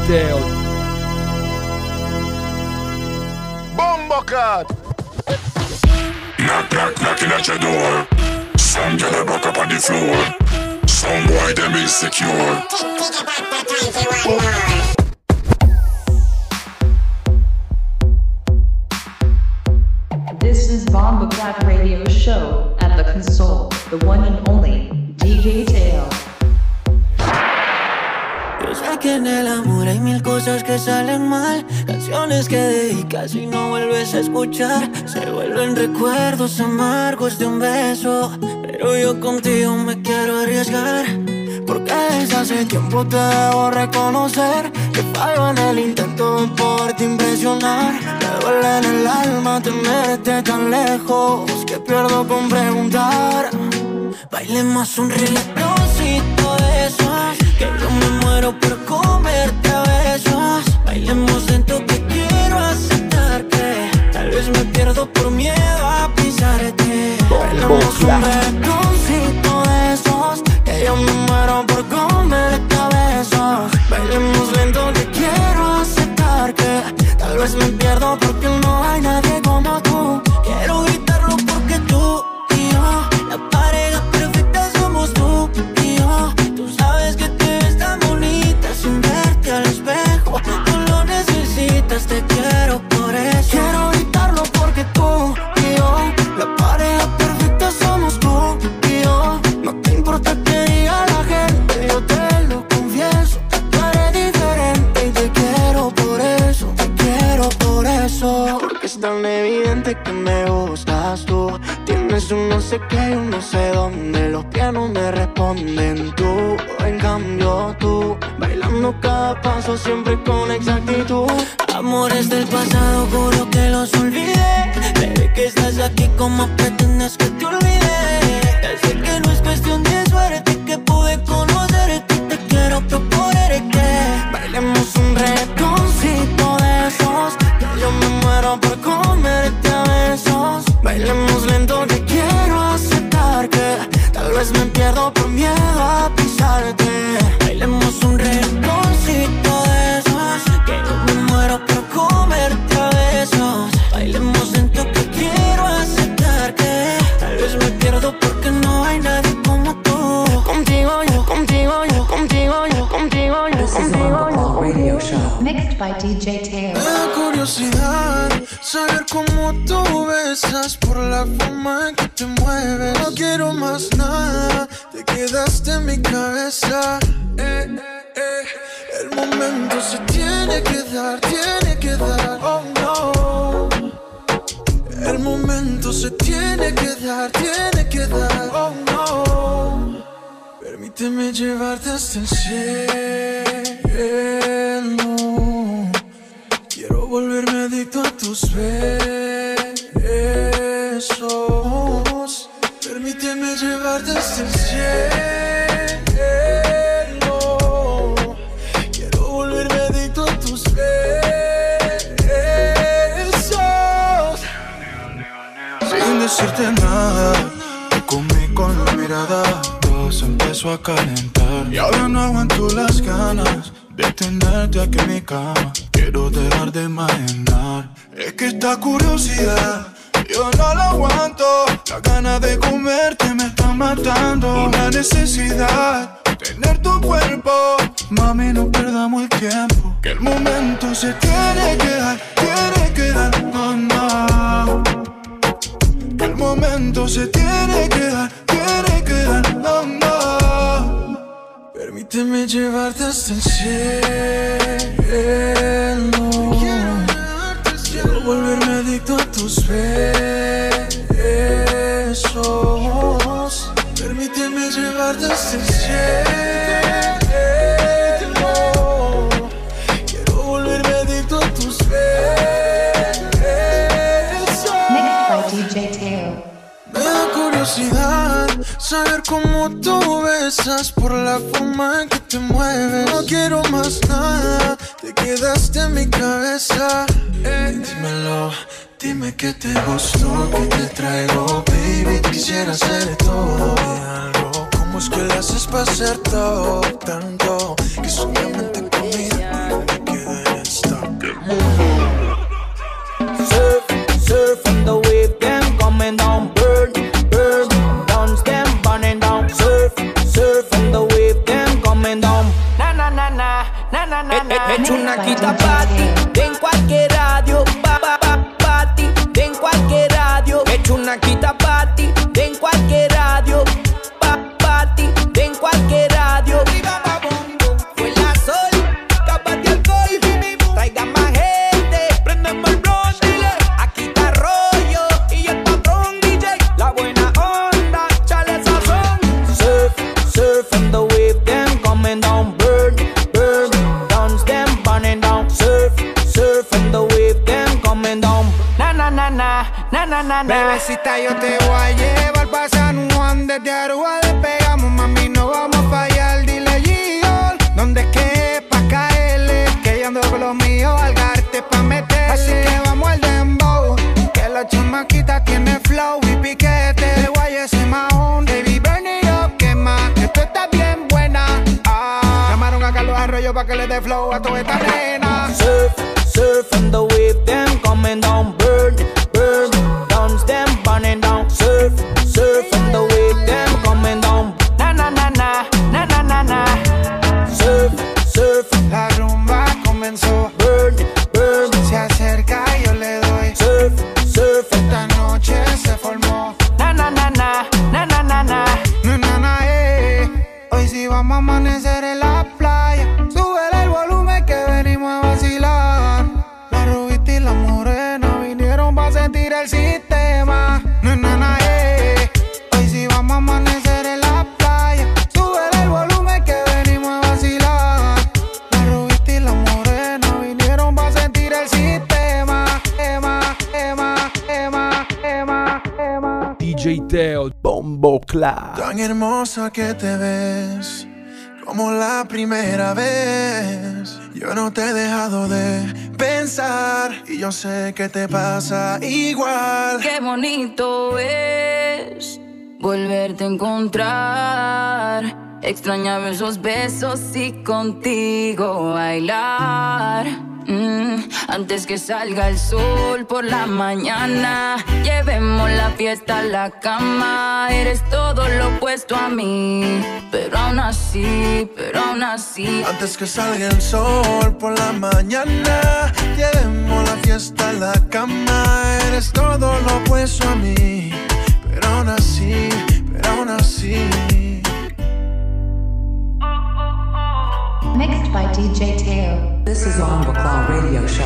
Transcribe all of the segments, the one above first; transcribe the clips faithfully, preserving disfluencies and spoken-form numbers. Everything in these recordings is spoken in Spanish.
Teo. Bombocat. Knock, knock, knocking at your door. Some girl a buck up on the floor. Some boy them insecure. This is Bombocat Radio Show. At the console, the one and only D J Teo. Yo sé que en el amor hay mil cosas que salen mal. Canciones que dedicas y no vuelves a escuchar. Se vuelven recuerdos amargos de un beso. Pero yo contigo me quiero arriesgar. Porque desde hace tiempo te debo reconocer que fallo en el intento de poderte impresionar. Me duele en el alma tenerte tan lejos que pierdo con preguntar. Bailemos un reggaetoncito de esos, que yo me muero por comerte a besos. Bailemos lento que quiero aceptar que tal vez me pierdo por miedo a pisarte. Bailemos un reggaetoncito de esos, que yo me muero por comerte a besos. Bailemos lento que quiero aceptar que tal vez me pierdo porque no hay nadie como tú. Quiero gritarlo porque tú y yo, la pareja perfecta somos tú y yo. Tú sabes que te ves tan bonita sin verte al espejo. Tú lo necesitas, te quiero por eso. Quiero gritarlo porque tú y yo, la pareja perfecta somos tú y yo. No te importa que diga la gente, yo te lo confieso. Tú eres diferente y te quiero por eso, te quiero por eso. Porque es tan evidente que me gustas tú. Tienes un no sé qué, un no sé dónde. Los pies no me responden tú. En cambio tú, bailando cada paso siempre con exactitud. Amores del pasado, juro que los olvidé. Desde que estás aquí, ¿cómo pretendes que te olvide? Ya sé que no es cuestión de suerte que pude conocerte y te quiero proponer que bailemos un reggaetoncito de esos, que yo me muero por comerte a besos. Bailemos lento que quiero aceptar que tal vez me pierdo por miedo a pisarte. Bailemos un reggaetoncito de esos, que yo me muero por comerte a besos. Bailemos lento que quiero aceptar que tal vez me pierdo porque no hay nadie como tú. Contigo yo, contigo yo, contigo yo, contigo yo, contigo yo. Radio Show. Mixed by D J Teo. Me da curiosidad saber cómo tú besas por la forma en que te mueves. No quiero más nada, te quedaste en mi cabeza. Eh, eh. El momento se tiene que dar, tiene que dar. Oh no. El momento se tiene que dar, tiene que dar. Oh no. Permíteme llevarte hasta el cielo. Quiero volverme adicto a tus besos. Permíteme llevarte hasta el cielo. Quiero volverme adicto a tus besos. Sin decirte nada, te comí con la mirada. Todo se empezó a calentar y ahora no aguanto las ganas de tenerte aquí en mi cama. Quiero dejar de imaginar. Es que esta curiosidad yo no la aguanto. La ganas de comerte me está matando. Una necesidad, tener tu cuerpo. Mami, no perdamos el tiempo, que el momento se tiene que dar, tiene que dar, no, no. Que el momento se tiene que dar, tiene que dar, no, no. Permíteme llevarte hasta el cielo. Quiero volverme adicto a tus besos. Permíteme llevarte hasta el cielo. Quiero volverme adicto a tus besos. Mixed by D J Teo. Me da curiosidad saber cómo tú besas por la forma en que te mueves. No quiero más nada, te quedaste en mi cabeza. Ey, dímelo, dime que te gustó, que te traigo, baby. Quisiera hacer todo y algo. ¿Cómo es que le haces para hacer todo tanto? Que solamente conmigo hecho una quita party, en cualquier radio, pa, pa, pa, party, en cualquier radio. He hecho una quita party, en cualquier radio, pa, party, en cualquier radio. Fue la sol, capas de alcohol, traigan más gente, prendemos el blunt, dile. Aquí está Rollo y el patrón D J, la buena onda, chale sazón. Surf, surf and the wave, them coming down, burn, burn, dance them burning down. Surf, surf and the wave, them coming down. Na na na na, na na na na. Bebecita, yo te voy a llevar pa' San Juan. Desde Aruba despegamos, mami, no vamos a fallar. Dile G-All, ¿dónde es que es pa' caerle? Que yo ando con los míos, Algarte pa' meterle. Así que vamos al dembow, que la chamaquita tiene flow y piquete. Guayes y mahón, baby, burn it up, quema, que tú estás bien buena. Ah, llamaron a Carlos Arroyo pa' que le dé flow a toda esta nena. Surf, surf and the wave, them coming down, burn, burn, dance them burning down. Surf, surf and the wave, them coming down. Na na na na, na na na na. Surf, surf, La rumba comenzó, burn, burn. se acerca y yo le doy. Surf, surf, Esta noche se formó. na na na na, na na na na. No, na, na, eh. Hoy sí vamos a amanecer en la playa. Súbele el volumen que venimos a vacilar. La rubita y la morena vinieron pa' sentir el sistema. No, na, na, eh. Hoy sí vamos a amanecer en la playa. Súbele el volumen que venimos a vacilar. La rubita y la morena vinieron pa' sentir el sistema. Ema, ema, ema, ema, ema. D J Teo, Bombo Clap. Tan hermosa que te ves, como la primera vez. Yo no te he dejado de pensar y yo sé que te pasa igual. Qué bonito es volverte a encontrar. Extrañaba esos besos y contigo bailar. Mm, antes que salga el sol por la mañana, llevemos la fiesta a la cama. Eres todo lo opuesto a mí, pero aún así, pero aún así. Antes que salga el sol por la mañana, llevemos la fiesta a la cama. Eres todo lo opuesto a mí, pero aún así, pero aún así. Mixed by D J Teo. This is Bombo Clap Radio Show.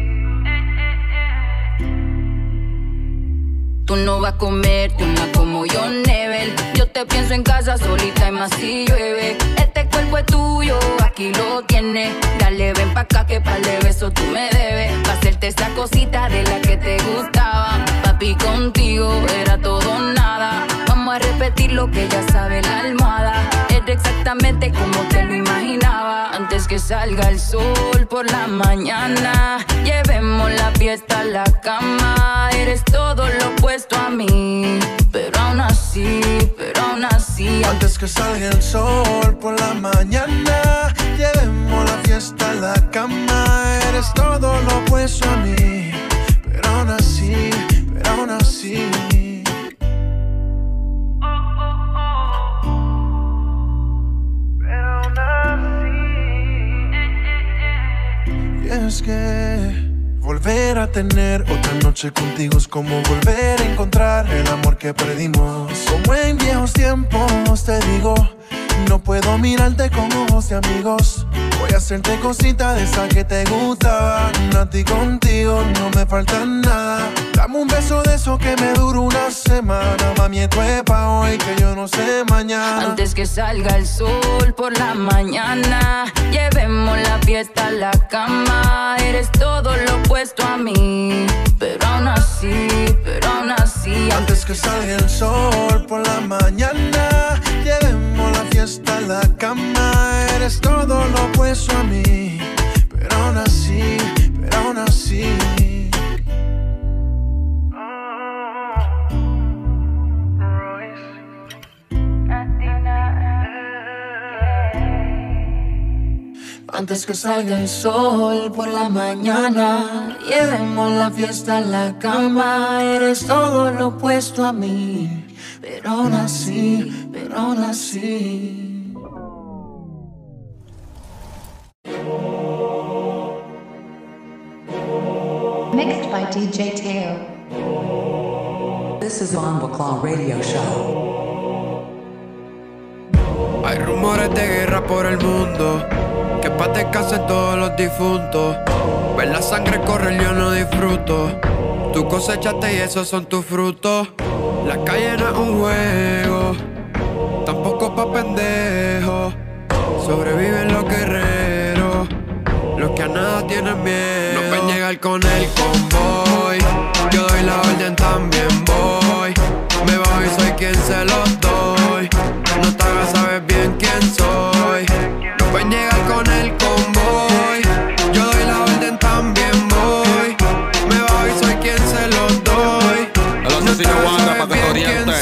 Tú no vas a comerte una como yo, Nebel. Yo te pienso en casa solita y más si llueve. Este cuerpo es tuyo, aquí lo tienes. Dale, ven pa' acá que par de besos tú me debes. Pa' hacerte esa cosita de la que te gustaba. Papi, contigo era todo o nada. Vamos a repetir lo que ya sabe la almohada. Era exactamente como te lo imaginaba. Antes que salga el sol por la mañana, llevemos la fiesta a la cama. Eres todo lo opuesto a mí, pero aún así, pero aún así. Antes que salga el sol por la mañana, llevemos la fiesta a la cama. Eres todo lo opuesto a mí, pero aún así, pero aún así. Pero aún así. Y es que volver a tener otra noche contigo es como volver a encontrar el amor que perdimos. Como en viejos tiempos te digo, no puedo mirarte con ojos de amigos. Voy a hacerte cositas de esas que te gustaban. A ti contigo no me falta nada. Dame un beso de eso que me dura una semana. Mami, esto es pa' hoy que yo no sé mañana. Antes que salga el sol por la mañana, llevemos la fiesta a la cama. Eres todo lo opuesto a mí, pero aún así, pero aún así. Antes que salga el sol por la mañana, llevemos la fiesta a la cama. Eres todo lo opuesto a mí, pero aún así, pero aún así. Antes que salga el sol por la mañana, llevemos la fiesta a la cama. Eres todo lo opuesto a mí, pero aún así, pero aún así. Mixed by D J Teo. This is Bomba Claw Radio Show. Hay rumores de guerra por el mundo, que pa' descansen todos los difuntos. Ver la sangre correr yo no disfruto. Tú cosechaste y esos son tus frutos. La calle no es un juego, tampoco pa' pendejos. Sobreviven los guerreros, los que a nada tienen miedo. No ven llegar con el convoy, yo doy la orden, también voy. Me bajo y soy quien se los doy. No te hagas saber bien quién soy. No ven llegar con el convoy, yo doy la orden, también voy. Me bajo y soy quien se los doy. El asesino guarda pa' que te oriente.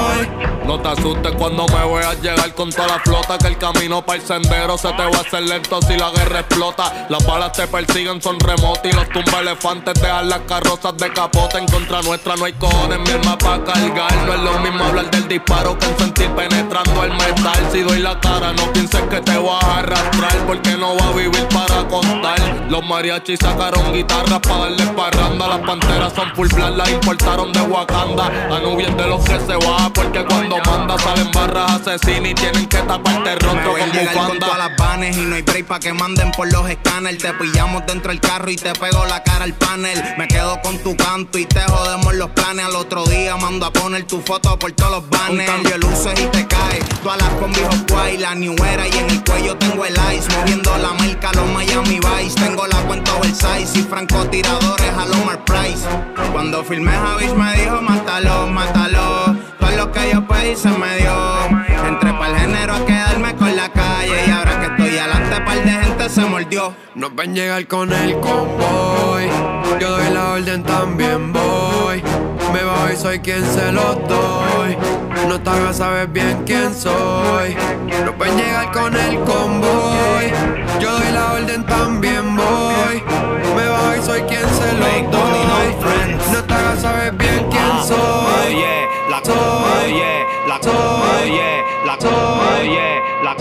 No te asustes cuando me veas llegar con toda la flota, que el camino para el sendero se te va a hacer lento si la guerra explota. Las balas te persiguen, son remotas y los tumba elefantes dejan las carrozas de capote. En contra nuestra no hay cojones, mi alma pa' cargar. No es lo mismo hablar del disparo que en sentir penetrando el metal. Si doy la cara no pienses que te vas a arrastrar, porque no va a vivir para contar. Los mariachis sacaron guitarras pa' darle parranda. Las panteras son full black, las importaron de Wakanda. Anubias de los que se va, porque cuando manda salen barras asesinas y tienen que taparte rostro con bufanda. Con todas las vanes y no hay break pa' que manden por los escáneres. Te pillamos dentro del carro y te pego la cara al panel. Me quedo con tu canto y te jodemos los planes. Al otro día mando a poner tu foto por todos los banners. Un cambio de luces y te cae, todas las con viejos guay. La New Era y en el cuello tengo el ice. Moviendo la marca los Miami Vice. Tengo la cuenta oversize y francotiradores a Lomar Price. Cuando filmé Javis me dijo mátalo, mátalo. Todo lo que yo pedí se me dio. Entré pa'l género a quedarme con la calle. Y ahora que estoy adelante par de gente se mordió. No ven llegar con el convoy, yo doy la orden, también voy. Me bajo y soy quien se los doy. No te hagas saber bien quién soy. No ven llegar con el convoy, yo doy la orden, también voy. Me bajo y soy quien se los doy. No te hagas saber bien quién soy. La oye, la oye, la oye, la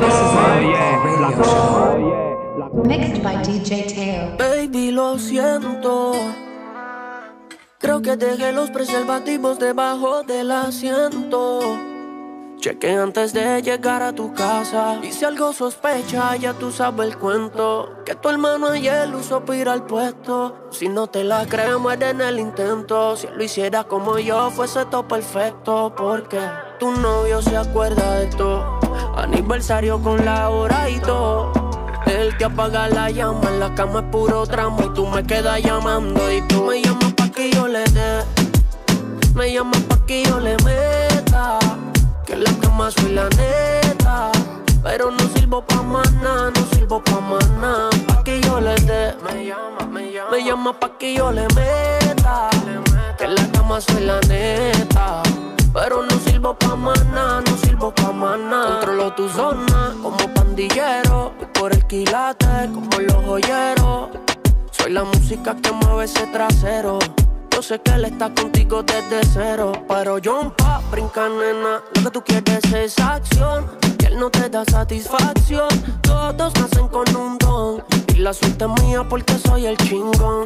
oye. Mixed by D J Teo. Baby, lo siento. Creo que dejé los preservativos debajo del asiento. Cheque antes de llegar a tu casa. Y si algo sospecha, ya tú sabes el cuento. Que tu hermano ayer usó para ir al puesto. Si no te la crees, muere en el intento. Si él lo hiciera como yo, fuese todo perfecto. Porque tu novio se acuerda de todo. Aniversario con la hora y todo. Él te apaga la llama, en la cama es puro tramo. Y tú me quedas llamando y tú me llamas pa' que yo le dé. Me llamas pa' que yo le meta. Que en la cama soy la neta, pero no sirvo pa' más nada, no sirvo pa' más nada. Pa' que yo le dé, me llama, me llama, me llama pa' que yo le meta. Que en la cama soy la neta, pero no sirvo pa' más nada, no sirvo pa' más nada. Controlo tu zona como pandillero, voy por el quilate como los joyeros. Soy la música que mueve ese trasero. Yo sé que él está contigo desde cero, pero yo pa' brincar, nena. Lo que tú quieres es acción, que él no te da satisfacción. Todos nacen con un don, y la suerte es mía porque soy el chingón.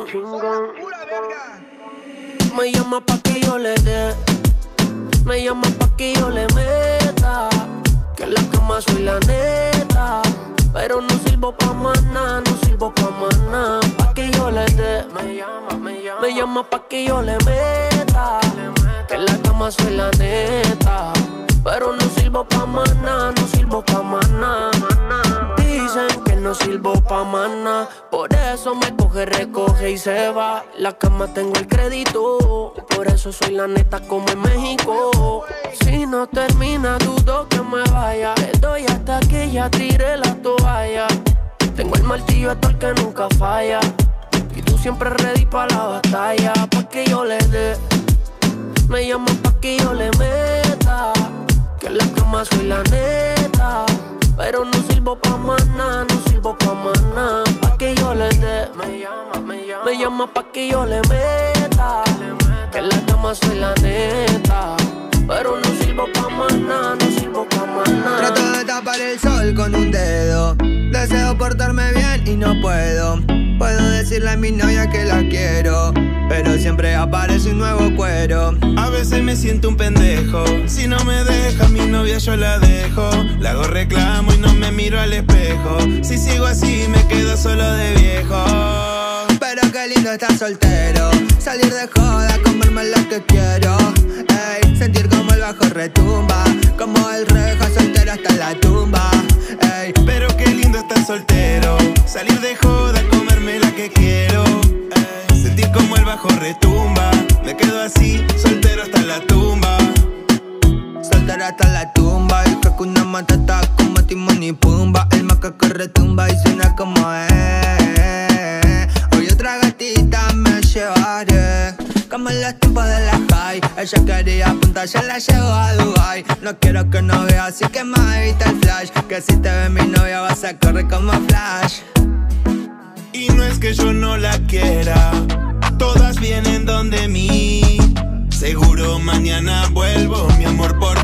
Me llama pa' que yo le dé, me llama pa' que yo le meta. Que en la cama soy la neta, pero no sirvo pa' más nada, no sirvo pa' más nada. Pa' que yo le dé, me llama, me llama, me llama pa' que yo le meta. Que en la cama soy la neta, pero no sirvo pa' más nada, no sirvo pa' más nada. Dicen que no sirvo pa' más nada, por eso me coge, recoge y se va. La cama tengo el crédito, por eso soy la neta como en México. Si no termina, dudo que me vaya. Le doy hasta que ya tire la toalla. Tengo el martillo hasta el que nunca falla. Y tú siempre ready pa' la batalla. Pa' que yo le dé, me llama pa' que yo le meta. Que en la cama soy la neta, pero no sirvo pa' más nada, no sirvo pa' más nada. Pa' que yo le dé, me llama, me llama, me llama pa' que yo le meta. Que en la cama soy la neta, pero no sirvo pa' más nada, no sirvo pa' más nada. Trato de tapar el sol con un dedo. deseo portarme bien y no puedo. Puedo decirle a mi novia que la quiero, pero siempre aparece un nuevo cuero. A veces me siento un pendejo. Si no me deja mi novia yo la dejo. Le hago reclamo y no me miro al espejo. Si sigo así me quedo solo de viejo. Pero qué lindo estar soltero. Salir de joda, comerme lo que quiero. Ey, sentir como el bajo retumba, como el rejo soltero hasta la tumba. Ey, pero qué lindo estar soltero. Salir de joda, comerme la que quiero. Ey, sentir como el bajo retumba. Me quedo así, soltero hasta la tumba. Soltero hasta la tumba. Y que una matata como Timón y Pumba. El macaco retumba y suena como eh. Hoy otra gatita me llevaré, como en los tiempos de la high. Ella quería apuntar, ya la llevo a Dubai. No quiero que no vea, así que más evita el flash. Que si te ve mi novia vas a correr como flash. Y no es que yo no la quiera, todas vienen donde mí. Seguro mañana vuelvo, mi amor, por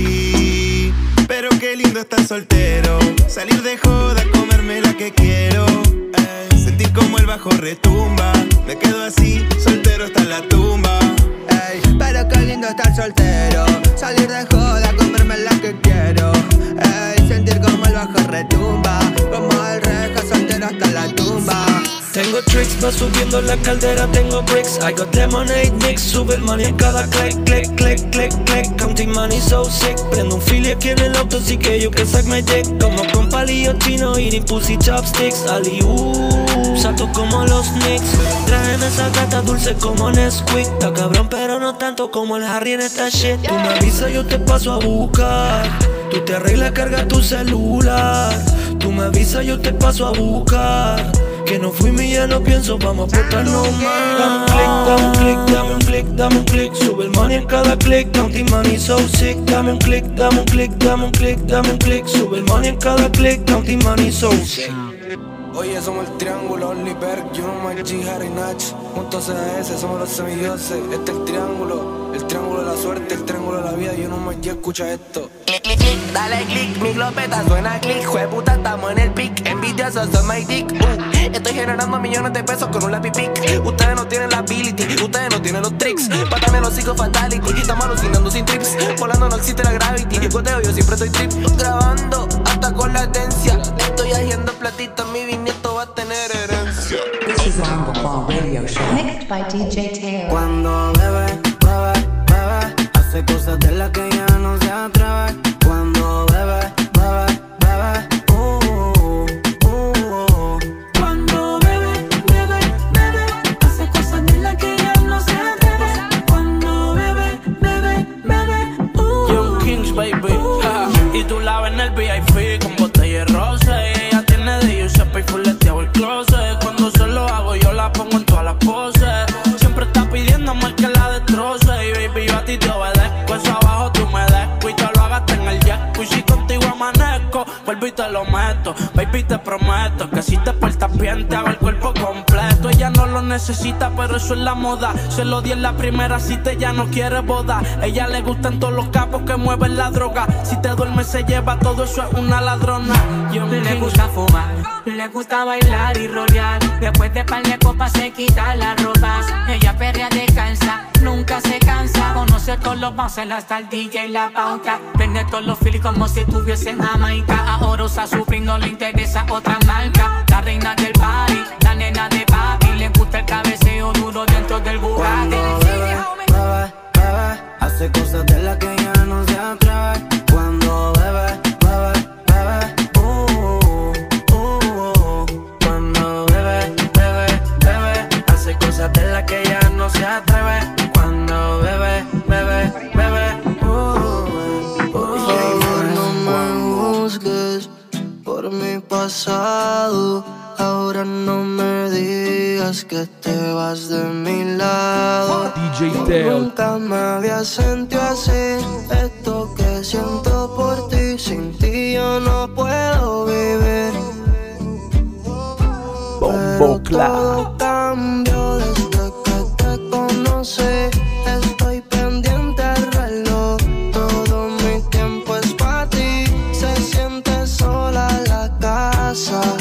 ti. Pero qué lindo estar soltero. Salir de joda, comerme la que quiero. Ey, sentir como el bajo retumba. Me quedo así, soltero hasta la tumba. Ey, pero qué lindo estar soltero. Salir de joda, comerme la que quiero. Ey, sentir como el bajo retumba, como el rejo soltero hasta la tumba. Tengo tricks, va subiendo la caldera, tengo bricks. I got lemonade mix, sube el money en cada click, click, click, click, click. Counting money so sick. Prendo un fili aquí en el auto, así que you can suck my dick. Como con palillo chino, eating pussy chopsticks. Ali-uh, salto como los Knicks. Traen esa gata dulce como Nesquik. Está cabrón, pero no tanto como el Harry en esta shit. Tú me avisas, yo te paso a buscar. Tú te arreglas, carga tu celular. Tú me avisas, yo te paso a buscar. Que no fui mi, ya no pienso, vamos a portarnos más. Dame un click, dame un click, dame un click, dame un click. Sube el money en cada click, counting money so sick. Dame un click, dame un click, dame un click, dame un click. Sube el money en cada click, counting money so sick. Oye, somos el triángulo, Oliver, Juno, Mike G, Harry Natch. Juntos en A S, somos los semidioses. Este es el triángulo, el triángulo de la suerte, el triángulo de la vida. Juno, Mike G, escucha esto. Click, click, click, dale click, mi glopeta suena click. Jueputa, estamos en el pic, envidiosos son my dick. uh, Estoy generando millones de pesos con un lápiz pic. Ustedes no tienen la ability, ustedes no tienen los tricks. Pátame los hijos fatality, estamos alucinando sin trips. Volando no existe la gravity, goteo yo siempre estoy trip. Grabando hasta con latencia, estoy haciendo platita, mi bisnieto va a tener herencia. This is Bombo Claw Radio Show. Mixed by D J Teo. Cuando bebe, bebe, bebe, hace cosas de las que ya no se atreve. Cuando bebe, bebe, bebe, uh, uh, uh, uh. Cuando bebe, bebe, bebe, hace cosas de las que ya no se atreve. Cuando bebe, bebe, bebe, uh, uh. Young Kings, baby, ja. Y tú la ves en el V I P con botella de rosa. Y ella tiene de Giuseppe y fuleteado el closet. Cuando se lo hago yo la pongo en todas las poses. Siempre está pidiendo más que la destroce. Y baby, yo a ti te obedezco. Eso abajo tú me desco y te lo hagaste en el jet. Y si contigo amanezco, vuelvo y te lo meto. Baby, te prometo que si te portas bien te hago el cuerpo completo. Ella no lo necesita, pero eso es la moda. Se lo di en la primera cita, ella no quiere boda. Ella le gustan todos los capos que mueven la droga. Si te duermes se lleva todo, eso es una ladrona. Yo le gusta fumar, le gusta bailar y rolear. Después de par de copas se quita las ropas. Ella perrea descansa, nunca se cansa. Conoce todos los bouncers hasta el D J y la pauta. Prende todos los feels como si estuviese en Jamaica. Ahora usa su free, no le interesa otra marca. La reina del party, la nena de papi. Le gusta el cabeceo duro dentro del Bugatti. Cuando bebe, bebe, bebe, hace cosas de las que ya no se atreve. Cuando bebe, bebe, bebe, uh, uh, uh. Cuando bebe, bebe, bebe, hace cosas de las que ya no se atreve. Cuando bebe, bebe, bebe, uh, uh, uh. No me juzgues por mi pasado. Ahora no me digas que te vas de mi lado. D J Teo. Nunca me había sentido así. Esto que siento por ti, sin ti yo no puedo vivir. Bombo Clap. Todo cambió desde que te conocí. Estoy pendiente al reloj. Todo mi tiempo es para ti. Se siente sola la casa.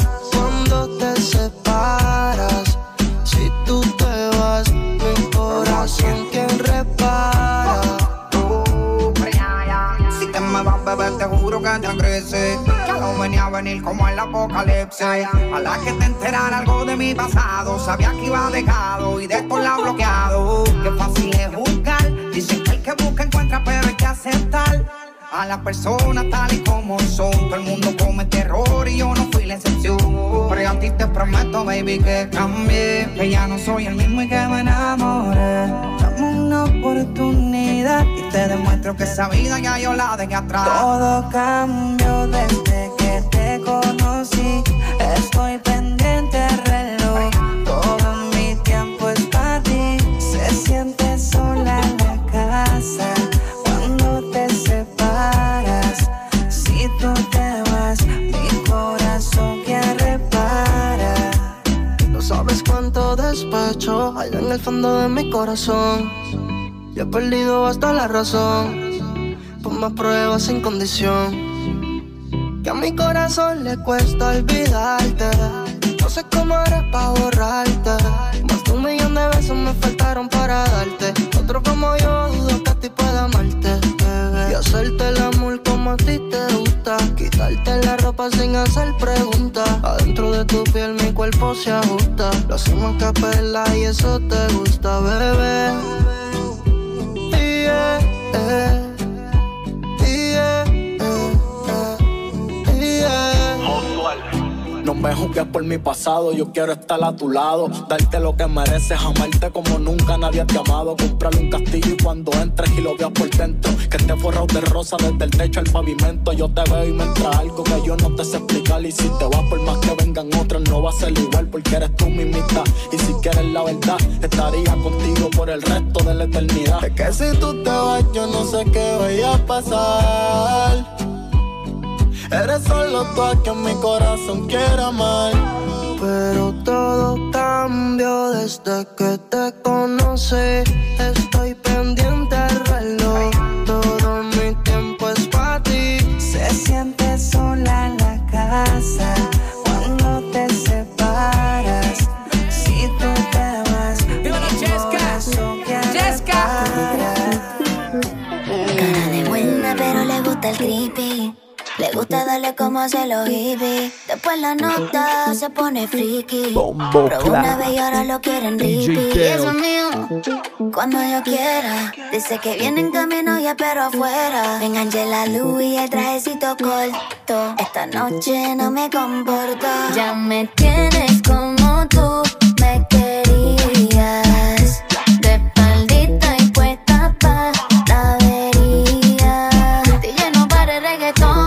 me vas, bebé, te juro que te crece. Ya no venía a venir como el apocalipsis. A la que te enterara algo de mi pasado, sabía que iba dejado y de esto la bloqueado. Qué fácil es juzgar, dicen que el que busca encuentra, pero hay que aceptar a las personas tal y como son. Todo el mundo comete error y yo no fui la excepción. Pero a ti te prometo, baby, que cambié, que ya no soy el mismo y que me enamoré. Dame una oportunidad y te demuestro que esa vida ya yo la dejé atrás. Todo cambió desde que te conocí. Estoy pendiente al reloj, todo mi tiempo es para ti. Se siente sola en la casa cuando te separas. Si tú te vas, mi corazón quiere parar. No sabes cuánto despecho hay en el fondo de mi corazón. Y he perdido hasta la razón por más pruebas sin condición. Que a mi corazón le cuesta olvidarte. No sé cómo haré pa' borrarte. Más de un millón de besos me faltaron para darte. Otro como yo dudo que a ti pueda amarte, bebé. Y hacerte el amor como a ti te gusta. Quitarte la ropa sin hacer preguntas. Adentro de tu piel mi cuerpo se ajusta. Lo hacemos a capela y eso te gusta, bebé. Yeah, yeah. No me juzgues por mi pasado, yo quiero estar a tu lado. Darte lo que mereces, amarte como nunca nadie te ha amado. Comprarle un castillo y cuando entres y lo veas por dentro, que esté forrado de rosa desde el techo al pavimento. Yo te veo y me entra algo que yo no te sé explicar. Y si te vas por más que vengan otros, no va a ser igual porque eres tú mi mitad. Y si quieres la verdad, estaría contigo por el resto de la eternidad. Es que si tú te vas, yo no sé qué vaya a pasar. Eres solo tú a quien mi corazón quiere amar. Pero todo cambió desde que te conocí. Estoy pendiente al reloj, todo mi tiempo es para ti. Se siente sola en la casa cuando te separas. Si tú te vas, mi corazón quiere parar. Cara de buena pero le gusta el creepy. Le gusta darle como hace los hippies. Después la nota se pone friki. Pero una vez y ahora lo quieren repeat. Y eso es mío, cuando yo quiera. Dice que viene en camino y espero afuera. Me enganché la luz y el trajecito corto. Esta noche no me comporto. Ya me tienes como tú me querías. De espaldita y puesta pa' la avería. Te lleno para el reggaetón.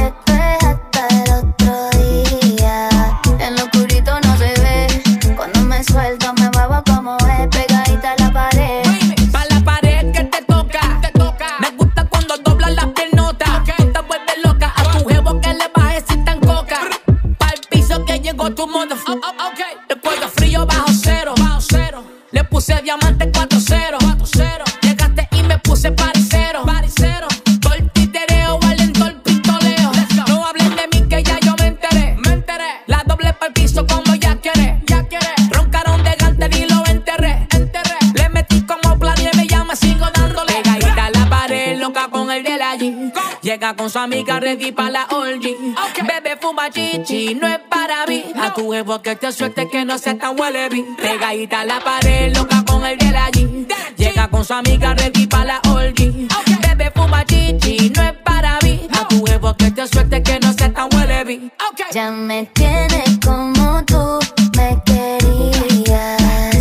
Suelto, me muevo como es, pegadita a la pared. Pa' la pared que te toca, te toca. Me gusta cuando doblas las piernotas. Okay. Tú te vuelves loca a tu jevo que le bajes si tan coca. Pa' el piso que llegó tu motherfucker. Oh, oh, okay. El cuello frío bajo cero, bajo cero. Le puse diamante cuatro cero, cuatro cero. Llegaste y me puse paricero, paricero. Todo el titereo, valento el pistoleo. No hablen de mí que ya yo me enteré, me enteré. La doble pa' el piso como ya querés, ya querés. Y lo enterré, enterré. Le metí como planeé, me llama, sigo dándole. Pegadita a la pared, loca con el de la G. Llega con su amiga ready pa' la orgy. Okay. Bebe fuma chichi, no es para mí. A tu jevo que te suelte que no sea tan huele bien. Pegadita a la pared, loca con el de la G. Llega con su amiga ready pa' la orgy. Okay. Bebe fuma chichi, no es para mí. A tu jevo que te suelte que no sea tan huele bien. Okay. Ya me tienes como tú me querías.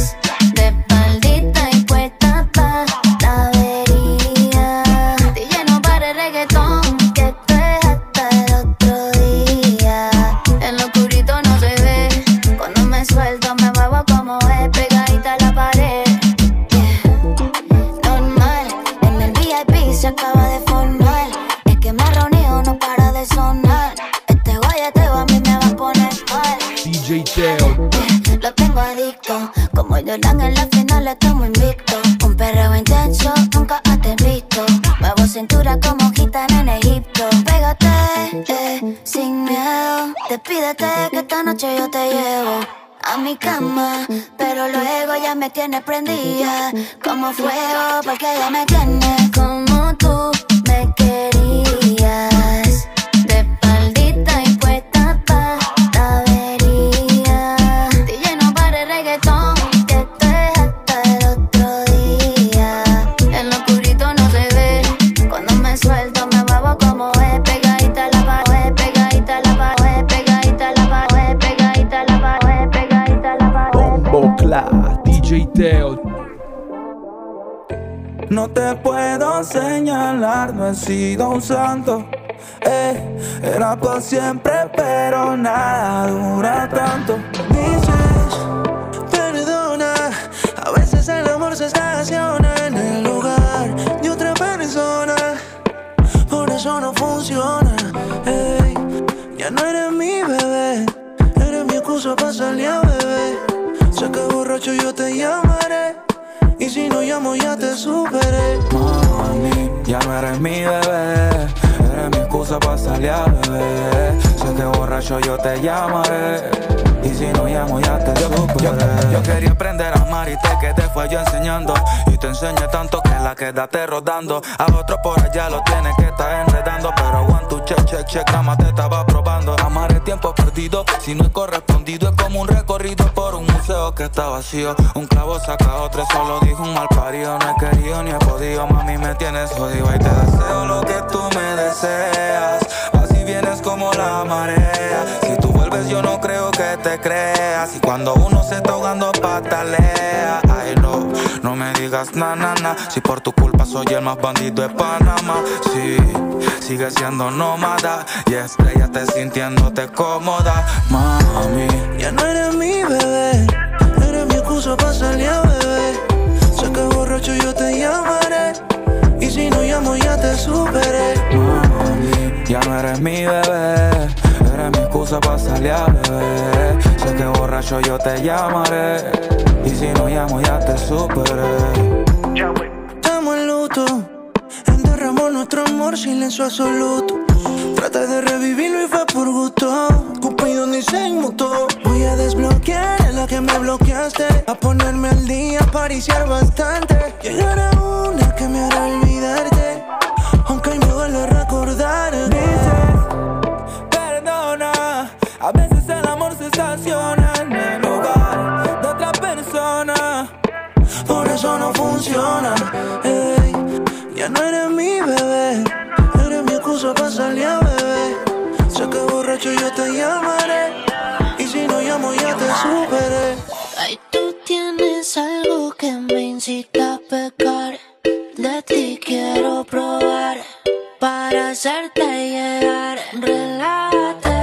Se acaba de formar. Es que me reunido, no para de sonar. Este guayeteo a mí me va a poner mal. D J Teo. Lo tengo adicto. Como Jordan en la final estamos invictos. Un perreo intenso, nunca antes visto. Muevo cintura como gitana en Egipto. Pégate, eh, sin miedo. Despídete que esta noche yo te llevo a mi cama, pero luego ya me tienes prendida como fuego, porque ya me tienes como tú me querías. Clap, D J Teo. No te puedo señalar, no he sido un santo. Eh, era por siempre, pero nada dura tanto. Dices, perdona, a veces el amor se estaciona en el lugar de otra persona. Por eso no funciona. Ey, ya no eres mi bebé, eres mi excusa para salir a beber. Sé que borracho yo te llamaré, y si no llamo ya te superé. Mami, ya no eres mi bebé, eres mi excusa para salir a beber. Sé que borracho yo te llamaré, y si no llamo ya te superé. Yo, yo, yo quería aprender a amar y te quedé fue yo enseñando. Y te enseñé tanto que la quedaste rodando. A otro por allá lo tienes que estar enredando. Pero one, two, check, check, check, grama te estaba probando. Amar es tiempo perdido, si no es correspondido. Es como un recorrido por un museo que está vacío. Un clavo saca otro, solo dijo un mal parido. No he querido ni he podido, mami me tienes jodido. Y te deseo lo que tú me deseas, así vienes como la marea. Si tú vuelves yo no creo que te creas. Y cuando uno se está ahogando patalea. Ay no, no me digas na na na, si por tu culpa soy el más bandido de Panamá. Sí, sigue siendo nómada y estrellate sintiéndote cómoda. Mami, ya no eres mi bebé, eres mi excusa para salir a beber. Sé que borracho yo te llamaré, y si no llamo ya te superé. Mami, ya no eres mi bebé, eres mi excusa para salir a beber. Sé que borracho yo te llamaré, y si no llamo ya te superé. Estamos en luto, enterramos nuestro amor, silencio absoluto. Traté de revivirlo y fue por gusto. Cupido ni se inmutó. Voy a desbloquear a la que me bloqueaste, a ponerme al día, a pariciar bastante. Llegar a una que me hará olvidarte, aunque hoy me duele recordar. Dices, perdona, a veces el amor se estaciona en el lugar de otra persona. Por eso no funciona. Ey, ya no eres mi bebé, eres mi excusa para salir a beber. Sé que borracho yo te llamaré, y si no llamo ya te superé. Ay, tú tienes algo que me incita a pecar. De ti quiero probar, para hacerte llegar. Relájate,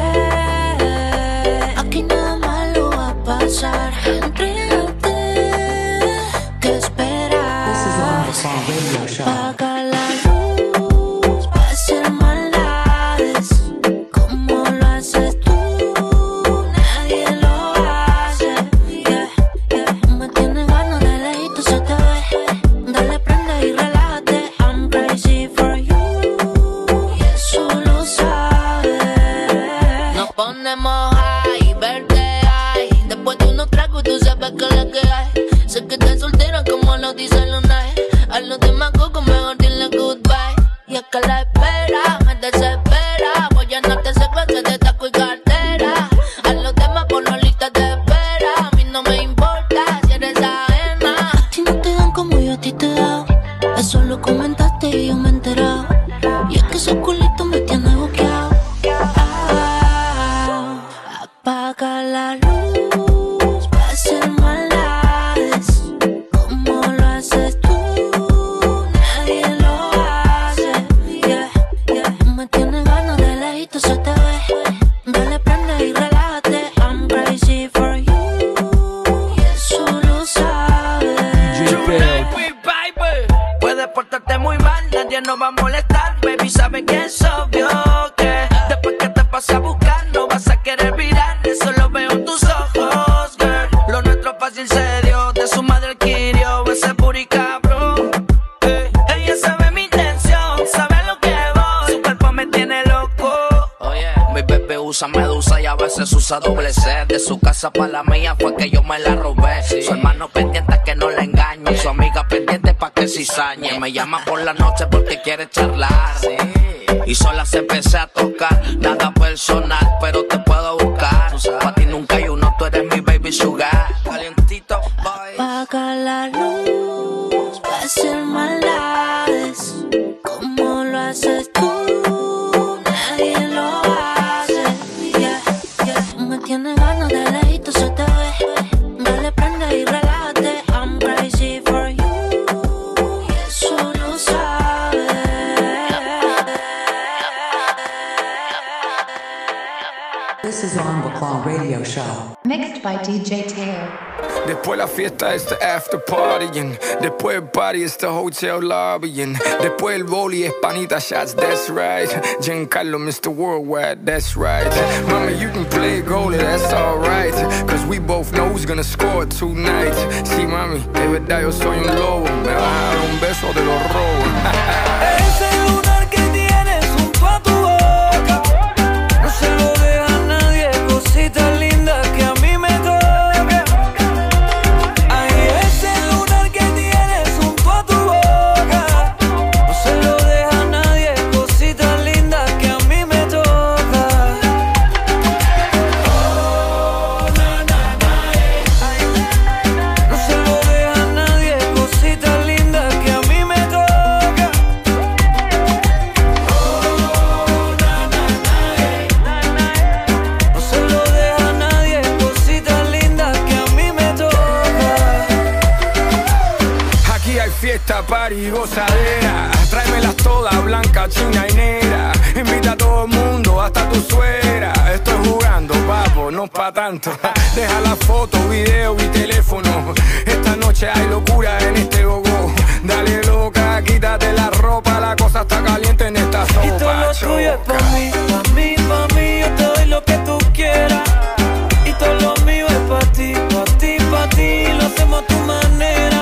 aquí nada malo va a pasar. Entrégate, ¿qué esperas? Apaga la luz, va a hacer maldades. Como lo haces tú, nadie lo hace. Yeah, yeah. Me tienes ganas de lejito, se te ve. Dale, prende y relájate. I'm crazy for you, y eso lo sabes. Nos ponemos high, verte high. Después de unos tragos tú sabes que es la que hay. Sé que estás soltera como lo dice Lunay. A los demás coco mejor dile goodbye. Y es que la espera me desespera. Voy a no te se clase de taco y cartera. A los demás por la lista de espera. A mí no me importa si eres ajena. A ti no te dan como yo a ti te he dado. Eso lo comentaste y yo me he enterado. Y es que ese culito me tiene buqueado. Ah, apaga la luz, va a hacer maldades. Como lo haces tú, nadie lo hace. Yeah, yeah. Me tienes ganas de lejito, se te ve. Dale, prende y relájate. I'm crazy for you, y eso lo sabes. Puedes portarte muy mal, nadie nos va a molestar. Baby, sabe que es obvio que después que te pase a buscar no vas a querer virar. Eso lo veo en tus ojos, girl. Lo nuestro fácil se dio, de su madre adquirió ese puri cabrón. Eh, ella sabe mi intención, sabe lo que voy. Su cuerpo me tiene loco. Oh yeah. Mi bebé usa medusa y a veces usa doble C. De su casa para la mía fue que yo me la robé. Sí. Su hermano pendiente a que no le engañe. Su amiga pendiente pa' que cizañe. Me llama por la noche porque quiere charlar. Sí. Y sola se empecé a tocar. Nada personal, pero te puedo buscar. Pa' ti nunca hay uno, tú eres mi baby sugar. Calientito, boy. Apaga la luz, va a hacer maldades. Como lo haces tú, nadie lo hace. Yeah, yeah. Me tienes ganas de lejito, se te ve. Dale, prende y relájate. This is on the Claw Radio Show. Mixed by D J Teo. Después la fiesta es the after partying. Después el party es the hotel lobbying. Después el boli es panita shots, that's right. Giancarlo, Mister Worldwide, that's right. Mama, you can play goalie, that's alright. Cause we both know who's gonna score tonight. Sí, mami, de verdad yo soy un lobo. Me vas a dar un beso de los robos. Ese lunar que tienes junto a tu boca, no se lo deja a nadie, cosita linda que a mí me toca. Ay, ese lunar que tienes junto a tu boca, no se lo deja a nadie, cosita linda que a mí me toca. Oh, na, na, na, eh. No se lo deja a nadie, cosita linda que a mí me toca. Fiesta, party, gozadera. Tráemelas todas, blanca, china y negra. Invita a todo el mundo, hasta tu suegra. Estoy jugando, papo, no pa' tanto. Deja la foto, video y teléfono. Esta noche hay locura en este gogo. Dale loca, quítate la ropa. La cosa está caliente en esta sopa. Y todo lo tuyo es pa' mí, pa' mí, pa' mí. Yo te doy lo que tú quieras. Y todo lo mío es pa' ti, pa' ti, pa' ti. Lo hacemos a tu manera.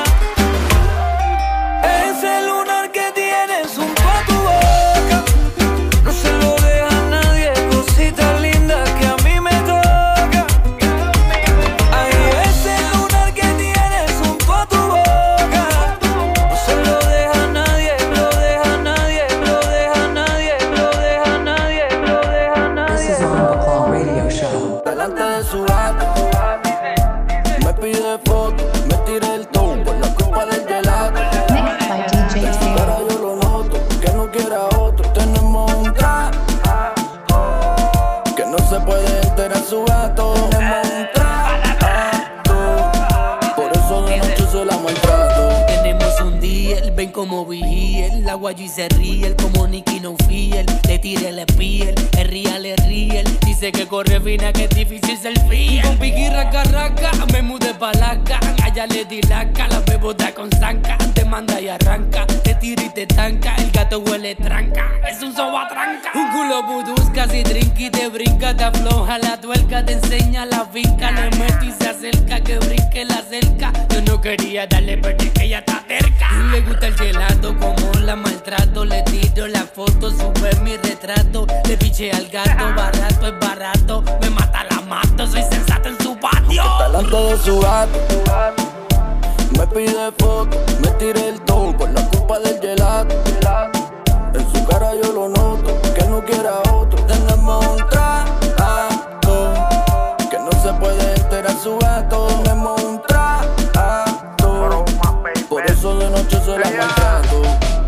Ese lunar que tienes junto a tu boca, no se lo deja a nadie, cosita linda que a mí me toca. Ay, ese lunar que tienes junto a tu boca, no se lo deja a nadie, lo deja a nadie, lo deja a nadie, lo deja a nadie, lo deja a nadie. This is on the Claw Radio Show. Delante de su gato, me pide foto, me tira el tono por la copa del gelato. Ahora yo lo noto, que no quiera otro. Tenemos un trato que no se puede enterar su gato. Tenemos un trato, por eso de noche se la maltrato. Tenemos un deal, ven como vigía. La guayi se ríe, como Nicky no fiel. Le tire la piel, el real es real. Dice que corre fina, que es difícil ser fiel. Con piqui raca raca, me mudé pa' la can. Allá le di laca, la bebota con zanca. Te manda y arranca, te tira y te tanca. El gato huele tranca, es un soba tranca. Un culo budusca, si trinqui te brinca. Te afloja la tuerca, te enseña la finca. Le meto y se acerca, que brinque la cerca. Yo no quería darle, pero es que ella está terca. Le gusta el gelato, como la maltrato. Le tiro la foto, sube mi retrato. Le piché al gato, barato es barato. Me mata, la mato, soy sensato en su patio. Delante de su gato, me pide foto, me tira el tono por la culpa del gelato. En su cara yo lo noto, que no quiera otro. Tenemos un trato que no se puede enterar su gato. Tenemos un trato, por eso de noche se la maltrato.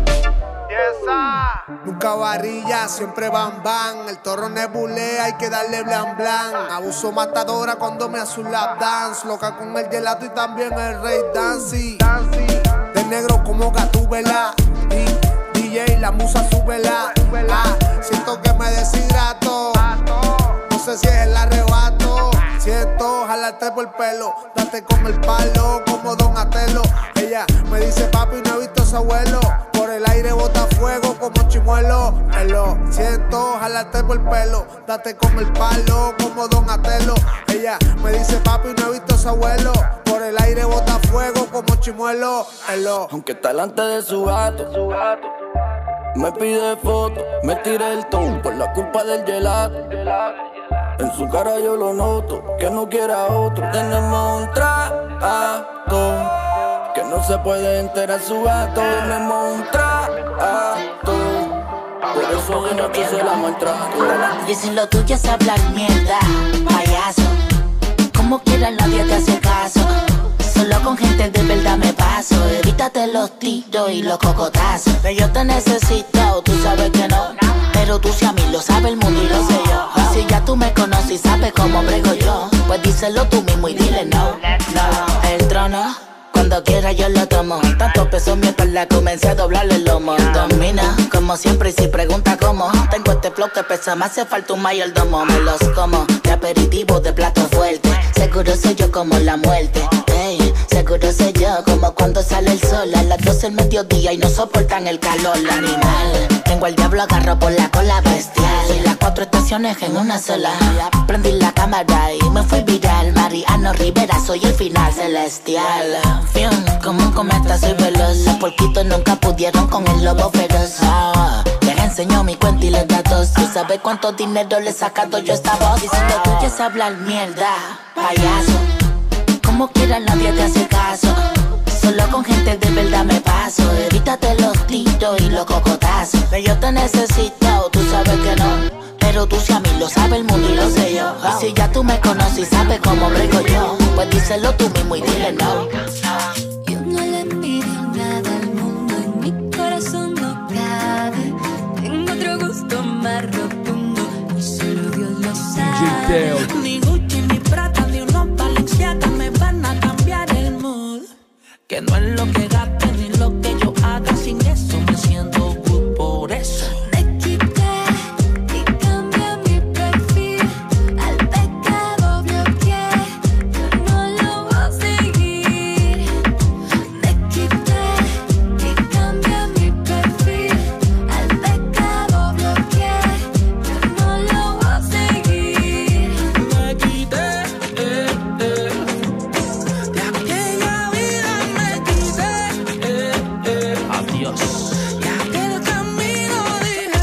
Nunca varilla, siempre bam bam. El toro nebulea, hay que darle blan blan. Abuso matadora cuando me hace un lap dance. Loca con el gelato y también el rey Dancy. De negro como Gatúbela. Y D J, la musa súbela. Ah, siento que me deshidrato. No sé si es el arrebato. Siento jalarte por el pelo. Date con el palo como Don Atelo. Ella me dice papi, no he visto a su abuelo. Por el aire bota fuego como chimuelo. Elo, siento jalarte por el pelo. Date con el palo como Don Atelo. Ella me dice papi, no he visto a su abuelo. Por el aire bota fuego como chimuelo. Elo. Aunque está delante de su gato, me pide foto, me tira el tono por la culpa del gelato. En su cara yo lo noto, que no quiera otro. Tenemos un trato que no se puede enterar su gato. Tenemos un trato, por eso de noche se la maltrato. Y si lo tuyo es hablar mierda, payaso, como quiera nadie te hace caso. Solo con gente de verdad me paso. Evítate los tiros y los cocotazos. Que yo te necesito, tú sabes que no. Pero tú si a mí lo sabe el mundo y lo sé yo. Y si ya tú me conoces y sabes cómo brego yo, pues díselo tú mismo y dile no, no. El trono Cuando quiera yo lo tomo. Tanto peso en mi espalda, comencé a doblarle el lomo. Domina, como siempre, y si pregunta cómo, tengo este flow que pesa, me hace falta un mayordomo. Me los como, de aperitivo, de plato fuerte. Seguro soy yo como la muerte. Ey, seguro soy yo como cuando sale el sol a las doce del mediodía y no soportan el calor. El animal, tengo al diablo agarro por la cola bestial. Y las cuatro estaciones en una sola. Prendí la cámara y me fui viral. Mariano Rivera, soy el final celestial. Fium, como un cometa soy veloz. Los porquitos nunca pudieron con el lobo feroz. Oh, les enseño mi cuenta y los datos. ¿Tú sabes cuánto dinero le he sacado yo a esta voz? Y si lo tuyo es hablar mierda, payaso, como quiera nadie te hace caso. Solo con gente de verdad me paso. Evítate los tiros y los cocotazos. Que yo te necesito, tú sabes que no. Pero tú si a mí lo sabe el mundo y lo sé yo. Y si ya tú me conoces y sabes cómo brego yo, pues díselo tú mismo y dile no. Yo no le envidio nada al mundo, en mi corazón no cabe. Tengo otro gusto más rotundo y solo Dios lo sabe. Ni Gucci, ni Prada, ni unos Balenciaga me van a cambiar el mood. Que no es lo que gaste ni lo que yo haga, sin eso me siento good por eso. Me quité y cambié mi perfil, al pecado bloqueé, yo no lo voy a seguir. Me quité y cambié mi perfil, al pecado bloqueé, yo no lo voy a seguir. Me quité, eh, eh, de aquella vida me quité, eh, eh, adiós. Y aquel camino dije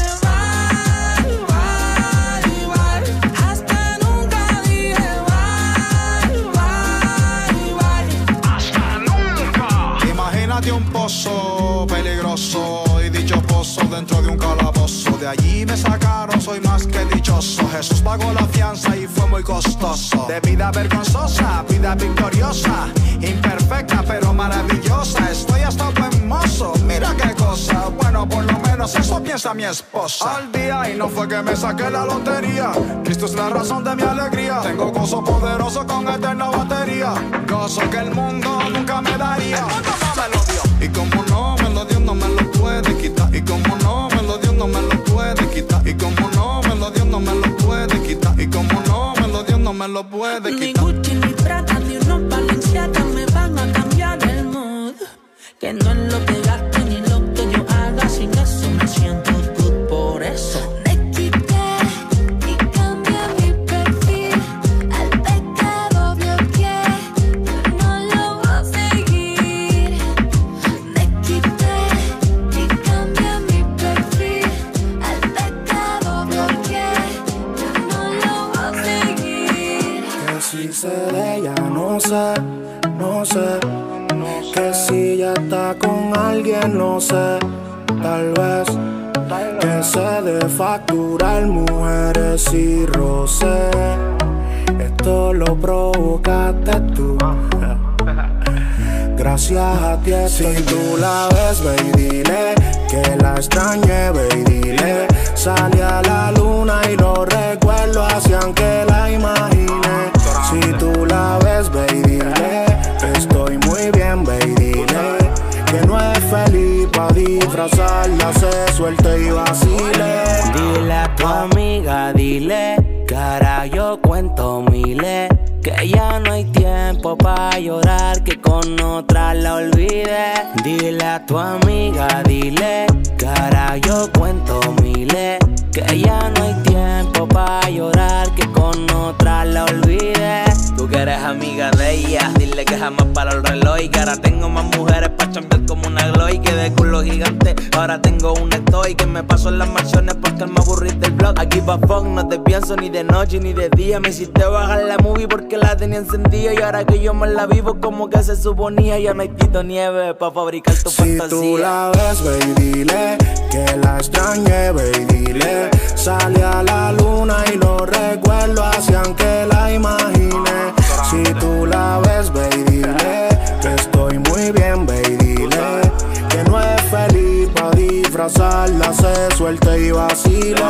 bye, bye, bye, hasta nunca dije bye, bye, bye, hasta nunca. Imagínate un pozo peligroso y dicho pozo dentro de un calabozo. De allí me sacaron, soy más que dichoso. Jesús pagó la fianza y fue muy costoso. De vida vergonzosa, vida victoriosa, imperfecta pero maravillosa. Estoy hasta buen mozo, mira qué cosa. Bueno, por lo menos eso piensa mi esposa. Al día y no fue que me saqué la lotería. Cristo es la razón de mi alegría. Tengo gozo poderoso con eterna batería. Gozo que el mundo nunca me daría. El mundo no me lo dio. Y como no me lo dio, no me lo puede quitar. Y como no me lo dio, no me lo puede quitar. Y como no me lo dio, no me lo puede quitar. Y como no me lo dio, no me lo puede Ni quitar. Gucci, ni Prada, ni unos Balenciaga me van a cambiar el mood. Que no es lo que gaste ni lo que yo haga, sin eso me siento good por eso. Me quité y cambié mi perfil, al pecado bloqueé, yo no lo voy a seguir. Me quité y cambié mi perfil, al pecado bloqueé, yo no lo voy a seguir. Que si se de ella no sé, no sé. Que si ya está con alguien no sé, tal vez. Que se de facturar mujeres y roce. Esto lo provocaste tú. Gracias a ti estoy. Si tú la ves, ve y dile que la extrañé, ve y dile. Salí a la luna y los recuerdos hacían que la imagine. Si tú la ves, ve y dile que estoy muy bien, ve y dile que no es feliz pa' disfrazarla, se suelte y vacile. Dile a tu amiga, dile, cara yo cuento miles, que ya no hay tiempo pa' llorar, que con otra la olvide. Dile a tu amiga, dile, cara yo cuento miles, que ya no hay tiempo pa' llorar, que con otra la olvide. Tú que eres amiga de ella, dile que jamás para el reloj, y que ahora tengo más mujeres pa' chambear como una glow, y que de culo gigante ahora tengo un estoy, que me paso en las mansiones porque me aburrí del blog. Aquí pa' fuck no te pienso ni de noche ni de día, me hiciste bajar la movie porque la tenía encendida, y ahora que yo me la vivo como que se suponía, ya no hay Tito Nieve pa' fabricar tu si fantasía. Si tú la ves, ve y dile que la extrañé, ve y dile. Salí a la luna y los recuerdos hacían que la imagine. Si tú la ves, ve y dile que estoy muy bien, ve y dile que no es feliz pa' disfrazarla, se suelte y vacile.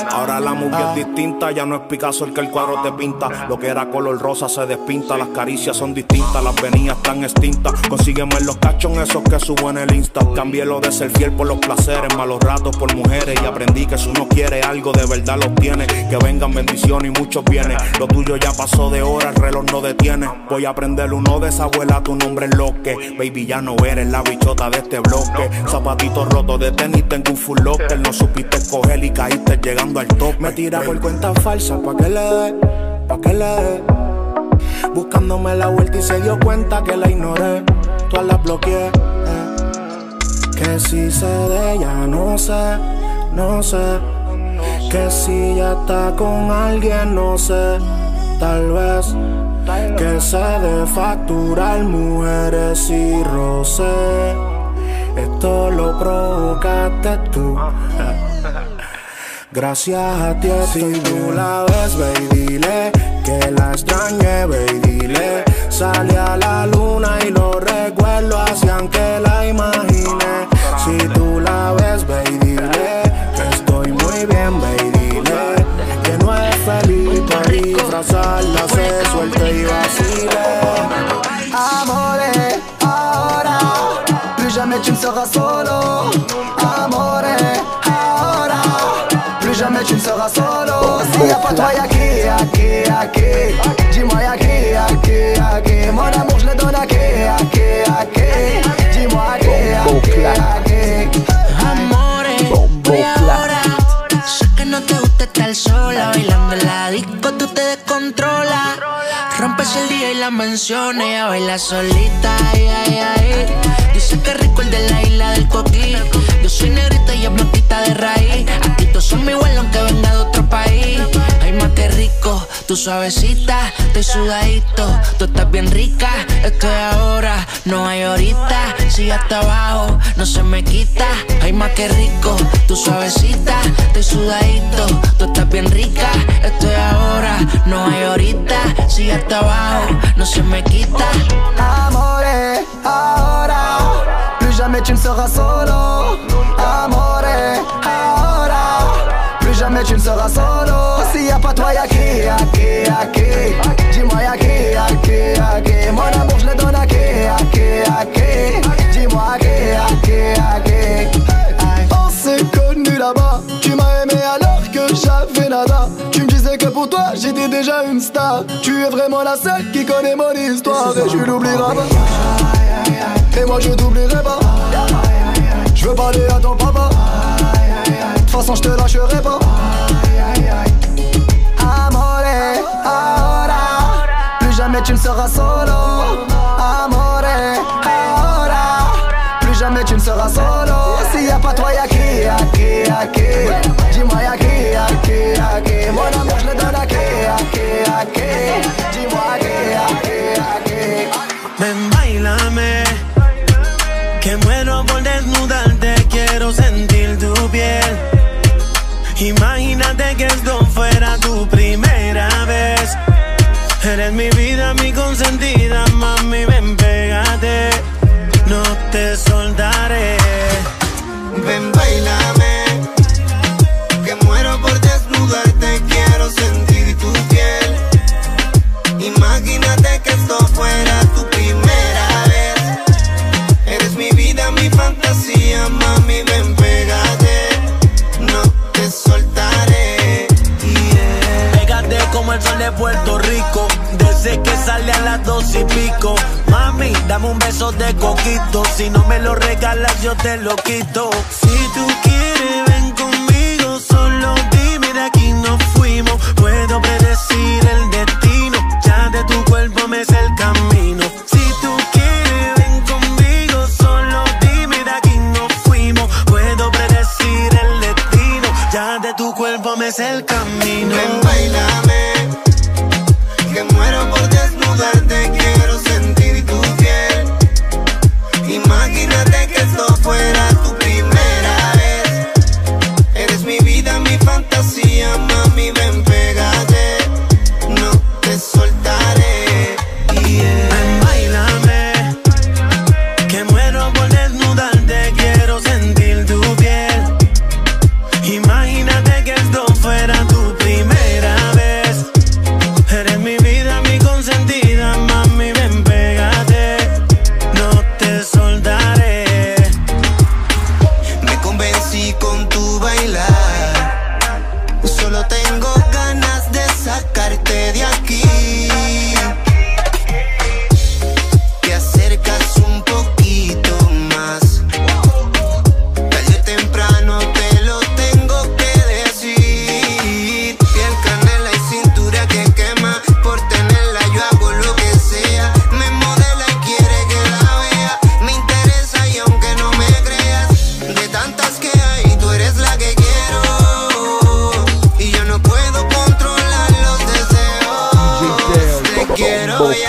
Ahora la movie es distinta, ya no es Picasso el que el cuadro te pinta. Lo que era color rosa se despinta, las caricias son distintas, las venidas están extintas. Consígueme los cachos esos que subo en el Insta. Cambié lo de ser fiel por los placeres, malos ratos por mujeres. Y aprendí que si uno quiere algo de verdad lo obtiene. Que vengan bendiciones y muchos bienes. Lo tuyo ya pasó de hora, el reloj no detiene. Voy a aprender uno de esa abuela, tu nombre es lo que. Baby, ya no eres la bichota de este bloque. Zapatitos rotos de tenis, tengo un full locker. No supiste escoger y caíste llegando al top. Me tira por cuenta falsa, pa' que le dé, pa' que le dé. Buscándome la vuelta y se dio cuenta que la ignoré. Todas las bloqueé, eh. Que si sé de ella, no sé, no sé. Que si ya está con alguien, no sé. Tal vez que se de facturar mujeres y roce. Esto lo provocaste tú. Gracias a ti estoy. Si tú la ves, ve y dile que la extrañé, ve y dile. Salí a la luna y los recuerdos hacían que la imagine. Si tú la ves, ve y dile que estoy muy bien, ve y dile que no es feliz para disfrazarla, se suelte y vacile. Amore, ahora, plus jamais tu ne seras solo. Amore, ahora, plus jamais tu ne seras solo. S'il y a pas toi, y'a qui, y'a qui, y'a qui. Dis-moi y'a qui, y'a qui, y'a qui. Mon amour je le donne à qui, y'a qui, y'a qui. Dis-moi y'a qui, y'a qui, y'a qui. Amore, voy ahora. Sé que no te gusta estar sola, bailando en la disco tú te descontrolas. Rompes el día y la menciones, ella baila solita, ay, ay, ay. Dice que rico el de la isla del coquí. Yo soy negrita y es blanquita de raíz. Aquí todos son igual aunque venga de otro país. Ay, más que rico, tú suavecita, estoy sudadito. Tú estás bien rica, estoy ahora, no hay ahorita. Si hasta abajo, no se me quita. Ay, más que rico, tú suavecita, estoy sudadito. Tú estás bien rica, estoy ahora, no hay ahorita. Si hasta abajo, no se me quita. Amore, ahora, plus jamais tu ne seras solo. Amore, ahora, plus jamais tu ne seras solo. S'il y a pas toi, y'a qui, y'a qui, y'a qui. Dis-moi y'a qui, y'a qui, y'a qui. Mon amour je le donne à qui, y'a qui, y'a qui. Dis-moi y'a qui, y'a qui, y'a qui. On s'est connus là-bas. Tu m'as aimé alors que j'avais nada. Tu me disais que pour toi j'étais déjà une star. Tu es vraiment la seule qui connaît mon histoire. Et tu l'oublieras pas. Et moi je t'oublierai pas. Je veux parler à ton papa. De toute façon je te lâcherai pas. Amore, ahora, plus jamais tu ne seras solo. Amore, ahora, plus jamais tu ne seras solo. S'il y a pas toi, y'a qui, y'a qui, y'a qui. Dis-moi y'a qui, y'a qui, y'a qui. Mon amour je le donne à qui, y'a qui, y'a qui. Dis-moi y'a qui, y'a qui, y'a qui. Ven, bailame, que muero por desnudarte, quiero sentir tu piel. Imagínate que esto fuera tu primera vez. Eres mi vida, mi consentida, mami, ven, pégate, no te soltaré. Ven, bailame, que muero por desnudarte, quiero sentir tu piel. Imagínate que esto fuera tu primera vez. Eres mi vida, mi fantasía, mami, ven, pégate, no te soltaré. Yeah. Pégate como el sol de Puerto Rico, desde que sale a las dos y pico. Mami, dame un beso de coquito, si no me lo regalas yo te lo quito. Si tú quieres ven conmigo, solo dime, de aquí nos fuimos. Puedo predecir el destino, ya de tu cuerpo me sé el camino. Si tú quieres ven conmigo, solo dime, de aquí nos fuimos. Puedo predecir el destino, ya de tu cuerpo me sé el camino. Ven, bailame, que muero por desnudarte, quiero sentir tu piel. Imagínate que esto fuera tu primera vez. Eres mi vida, mi fantasía, mami, ven, pégate, no te soltaré. Yeah. Ven, bailame, que muero por desnudarte, quiero sentir tu piel. Imagínate que esto fuera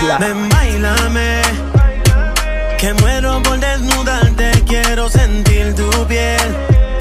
bella. Ven, bailame, que muero por desnudarte, quiero sentir tu piel.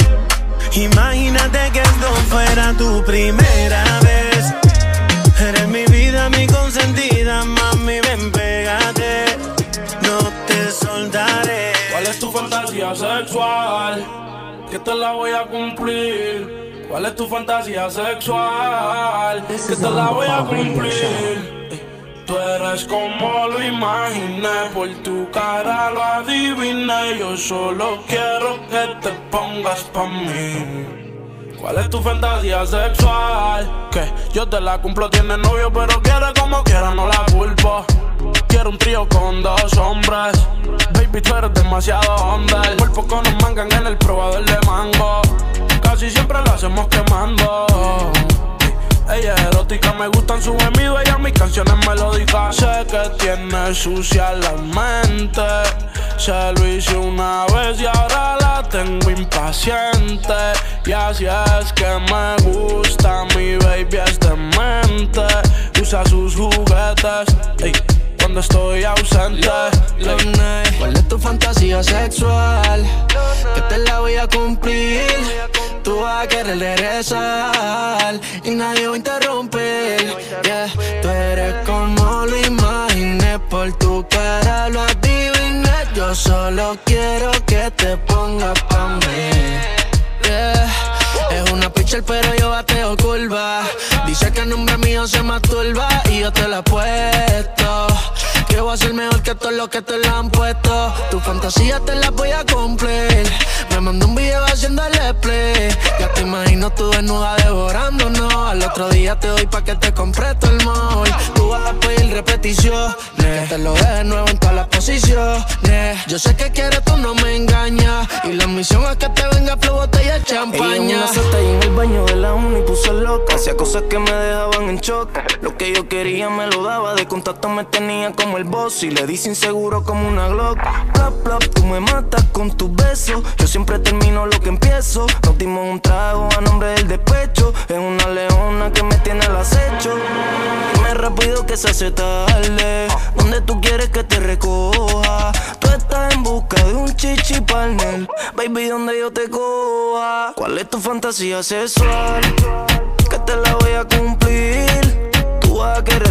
Imagínate que esto fuera tu primera vez. Eres mi vida, mi consentida, mami, ven, pégate, no te soltaré. ¿Cuál es tu fantasía sexual? Que te la voy a cumplir. ¿Cuál es tu fantasía sexual? Que te la voy a cumplir. Tú eres como lo imaginé, por tu cara lo adiviné. Yo solo quiero que te pongas pa' mí. ¿Cuál es tu fantasía sexual? Que yo te la cumplo, tienes novio pero quiere como quiera, no la culpo. Quiero un trío con dos hombres. Baby, tú eres demasiado hombre. Por poco nos mangan en el probador de mango. Casi siempre lo hacemos quemando. Ella es erótica, me gustan sus gemidos, ella mis canciones melódicas. Sé que tiene sucia la mente. Se lo hice una vez y ahora la tengo impaciente. Y así es que me gusta, mi baby es demente. Usa sus juguetes, ey, cuando estoy ausente. Ey. ¿Cuál es tu fantasía sexual? Que te la voy a cumplir. Tú vas a querer regresar y nadie va a interrumpir. Yeah. Tú eres como lo imaginé, por tu cara lo adiviné. Yo solo quiero que te pongas pa' mí. Yeah. Es una pitcher pero yo bateo curva. Dice que el nombre mío se masturba y yo te la he puesto. Que voy a ser mejor que todos los que te la han puesto. Tu fantasía te la voy a cumplir. Me mandó un video haciéndole play. Ya te imagino tú desnuda devorándonos. Al otro día te doy pa' que te compre todo el mall. Tú vas a pedir repeticiones, que te lo deje nuevo en todas las posiciones. Yo sé que quieres, tú no me engañas. Y la misión es que te venga flow, botella de champaña. Ella en una seta y en el baño de la uni puso loca. Hacía cosas que me dejaban en shock. Lo que yo quería me lo daba. De contacto me tenía como el boss. Y le di inseguro como una Glock. Plop, plop, tú me matas con tus besos. Yo siempre termino lo que empiezo. Nos dimos un trago a nombre del despecho. Es una leona que me tiene al acecho. Dime rápido que se hace tarde. ¿Dónde tú quieres que te recoja? Tú estás en busca de un chichi partner. Baby, ¿dónde yo te coja? ¿Cuál es tu fantasía sexual? Que te la voy a cumplir. Tú vas a querer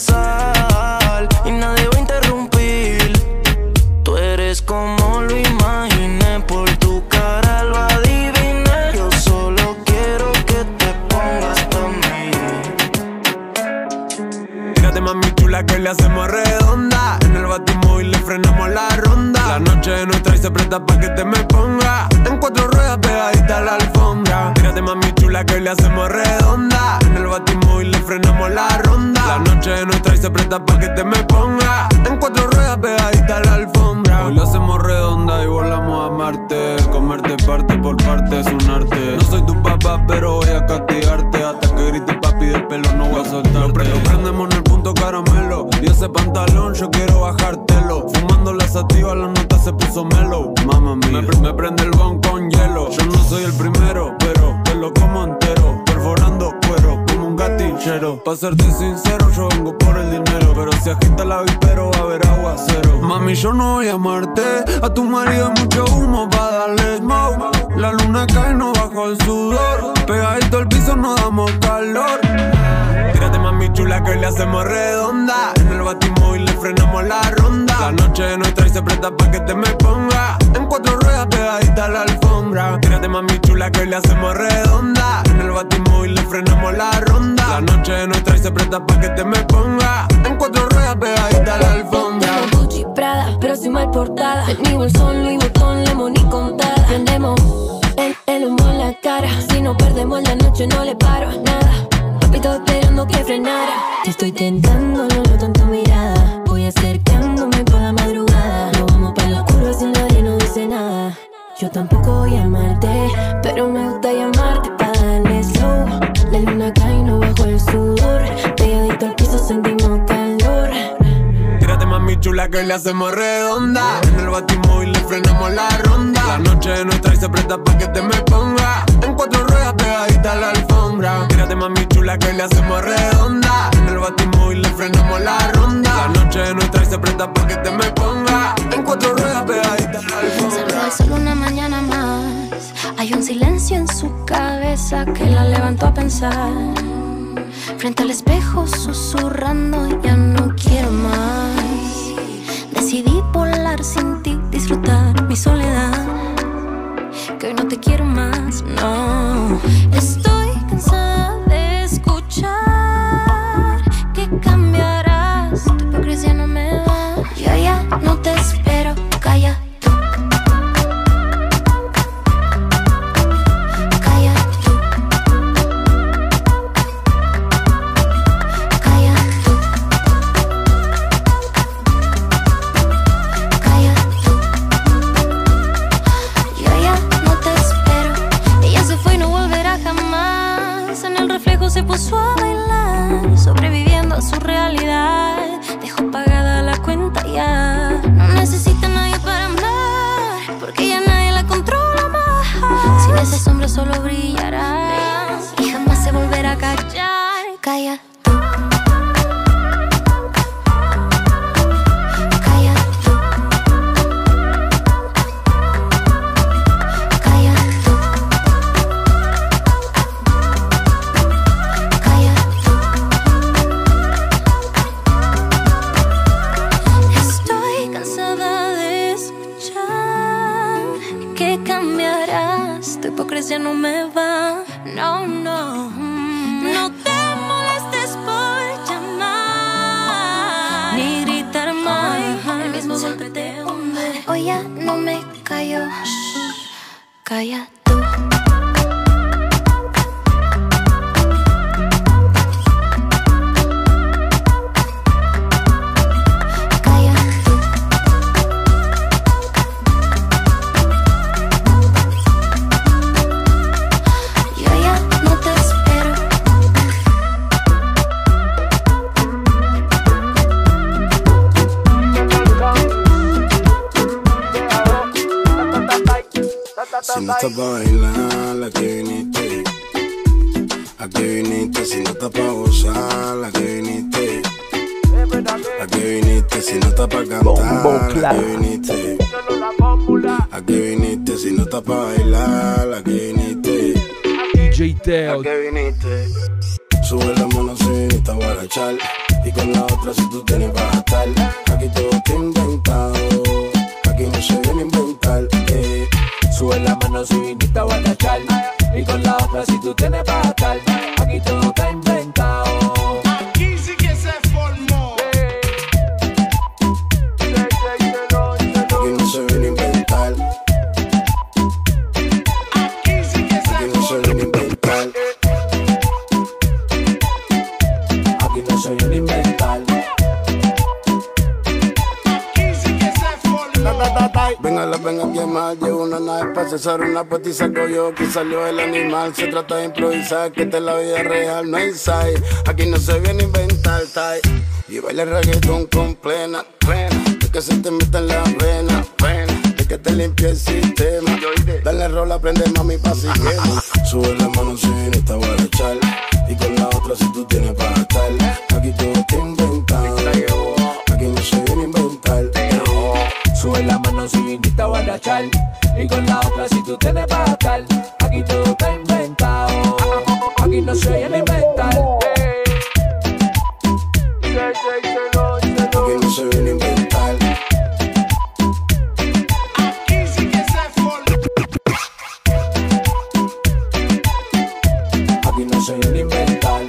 regresar y nadie va a interrumpir. Tú eres como lo imaginé, por tu cara lo adiviné. Yo solo quiero que te pongas pa' mí. Tírate mami chula que le hacemos redonda. En el batimóvil le frenamos la ronda. La noche es nuestra y se presta pa' que te me ponga. En cuatro ruedas pegadita a la alfombra. Tírate mami chula que le hacemos redonda. En el batimóvil le frenamos la ronda. La noche es nuestra y se presta pa' que te me ponga. En cuatro ruedas pegadita a la alfombra. Hoy lo hacemos redonda y volamos a Marte. Comerte parte por parte es un arte. No soy tu papá pero voy a castigarte. Hasta que grite papi del pelo no voy a soltarte. Lo prendemos en el punto caramelo. Y ese pantalón yo quiero bajártelo. Fumando la sativa la nota se puso mellow. Mamma mía, me, me prende el bon con hielo. Yo no soy el primero pero te lo como entero. Perforando cuero como un gatillero. Pa' serte sincero yo vengo por el dinero. Pero si agita la vipero va a haber aguacero. Mami yo no voy a amarte. A tu marido hay mucho humo pa' darle smoke. La luna cae no bajo el sudor. Pegadito al piso no damos calor. Tírate mami chula que le hacemos redonda. En el batimóvil le frenamos la ronda. La noche es nuestra y se presta pa' que te me ponga. En cuatro ruedas pegadita a la alfombra. Tírate mami chula que le hacemos redonda. En el batimóvil le frenamos la ronda. La noche es nuestra y se presta pa' que te me ponga. En cuatro ruedas pegadita a la alfombra. Tengo Gucci Prada, pero soy mal portada. En mi bolsón Louis Vuitton, Lemon y contada. Prendemos el, el humo en la cara. Si no perdemos la noche no le paro a nada. Papito esperando que frenara. Te estoy tentando, lo noto en tu mirada. Voy acercándome por la madrugada. Nos vamos para lo oscuro si nadie nos dice nada. Yo tampoco voy a amarte, pero me gusta llamarte pa' darle slow. La luna cae no bajo el sudor. Pegadito al piso sentimos calor. Tírate mami chula que le hacemos redonda. En el batimóvil le frenamos la ronda. La noche es nuestra y se presta pa' que te me ponga. En cuatro ruedas pegadita a la alfombra. alfombra. Tírate mami chula que le hacemos redonda. En el batimóvil le frenamos la ronda. La noche es nuestra y se presta pa' que te me ponga en cuatro ruedas pegadita a la alfombra. Cerró el sol una mañana más. Hay un silencio en su cabeza que la levantó a pensar. Frente al espejo susurrando, ya no quiero más. Decidí volar sin ti, disfrutar mi soledad. Que hoy no te quiero más, no. Estoy cansada de escuchar que cambiarás. Tu hipocresía no me da. Yo ya no te espero, calla. Se puso a bailar, sobreviviendo a su realidad. Dejó pagada la cuenta ya. No necesita a nadie para amar, porque ya nadie la controla más. Sin esa sombra solo brillará y jamás se volverá a callar. Calla. Ya no me va, no, no. No te molestes por llamar ni gritar más. El mismo golpe te hunde. Hoy ya no me callo. Calla tú. Si no estás pa' bailar, ¿a qué viniste? ¿A qué viniste? Si no estás pa' gozar, ¿a qué viniste? ¿A qué viniste? Si no estás pa' cantar, ¿a qué viniste? ¿A qué viniste? Si no estás pa' bailar, ¿a qué viniste? D J Teo. ¿A qué viniste? Sube la mano si viniste a guarachar, y con la otra si tú tienes para gastar. Aquí todo está inventado, aquí no se viene a inventar, eh. Sube la mano si viniste a guarachar, y con la otra si tú tienes para gastar. Aquí todo está inventado. Aquí sí que se formó. Aquí no se viene a inventar. Aquí sí que se Aquí no se viene a inventar. Aquí no se viene a inventar. Aquí sí que se formó. Venga, la venga a quemar, llevo una nave para cesar una puesta y saco yo que salió el animal. Se trata de improvisar, que esta es la vida real, no hay side. Aquí no se viene a inventar, tai. Y baila el reggaetón con plena, plena. De que se te meta en la vena, vena. De que te limpie el sistema. Dale rola, prende mami pa' si quema. Sube la mano si viniste a guarachar, y con la otra si tú tienes para gastar. Aquí todo está inventado. Aquí no se viene a inventar. Sube la mano si viniste a guarachar, y con la otra si tú tienes para gastar. Aquí todo está inventado. Aquí no se viene a inventar. Aquí no se viene a inventar. Aquí sí que se formó. Aquí no se viene a inventar.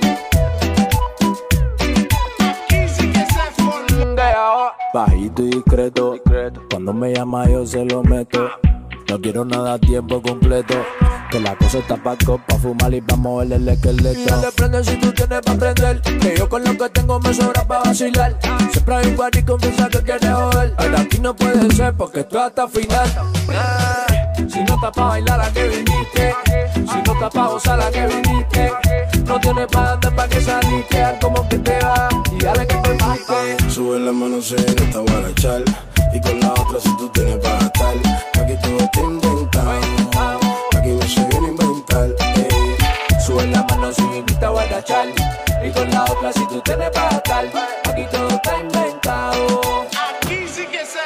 Aquí sí que se formó. Bajito y discreto, cuando me llama yo se lo meto. No quiero nada a tiempo completo, que la cosa está pa' copa, fumar y pa' moverle el esqueleto. Dale, prende si tú tienes pa' prender, que yo con lo que tengo me sobra pa' vacilar. Siempre hay un party confianza que quiere joder, pero aquí no puede ser porque esto hasta final. Si no está pa' bailar, ¿a qué viniste? Si no está pa' gozar, ¿a qué viniste? No tienes pa' andar pa' que saliste, haz como que te va y dale que te pique. Sube la mano si viniste a guarachar, y con la otra si tú tienes para gastar. Aquí todo está inventado. Aquí no se viene a inventar, eh. Sube la mano lado si me invita a guardachar. Y con la otra si tú tienes para gastar. Aquí todo está inventado. Aquí sí que se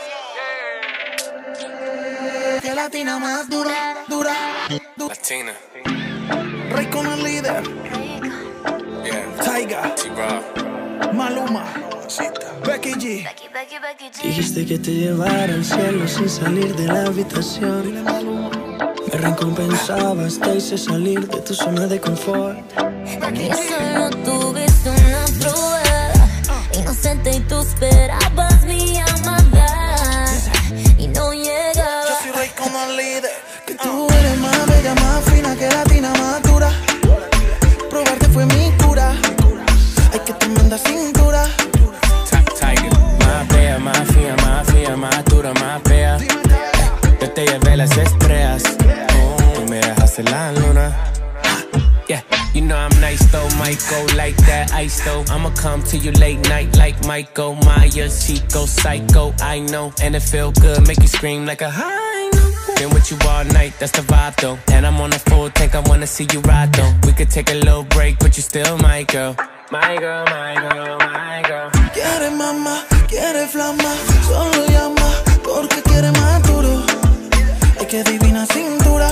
formó. Que latina más dura, dura, dura. Latina. Rey con el líder. Yeah. Tyga. T-Rob. Maluma. Becky G. Dijiste que te llevara al cielo sin salir de la habitación. Me recompensabas, te hice salir de tu zona de confort. Aquí solo tuviste una prueba inocente y tú esperabas mi llamada y no llegaba. Yo soy Rey con el líder. Que tú eres más bella, más fina, que latina más dura. Probarte fue mi cura. Ay, qué tremenda cintura. Tiger, más bella, más fina, más fría, más dura, más fea. Yo te llevé las estrellas. Oh, y me dejaste la luna. Yeah, you know I'm nice though, might go like that ice though. I'ma come to you late night like Michael Myers. She go psycho, I know, and it feel good, make you scream like a high note. Been with you all night, that's the vibe though. And I'm on a full tank, I wanna see you ride though. We could take a little break, but you still my girl. My girl, my girl, my girl. Quiere mamá, quiere flama, solo llama porque quiere más duro. Ay, qué divina cintura.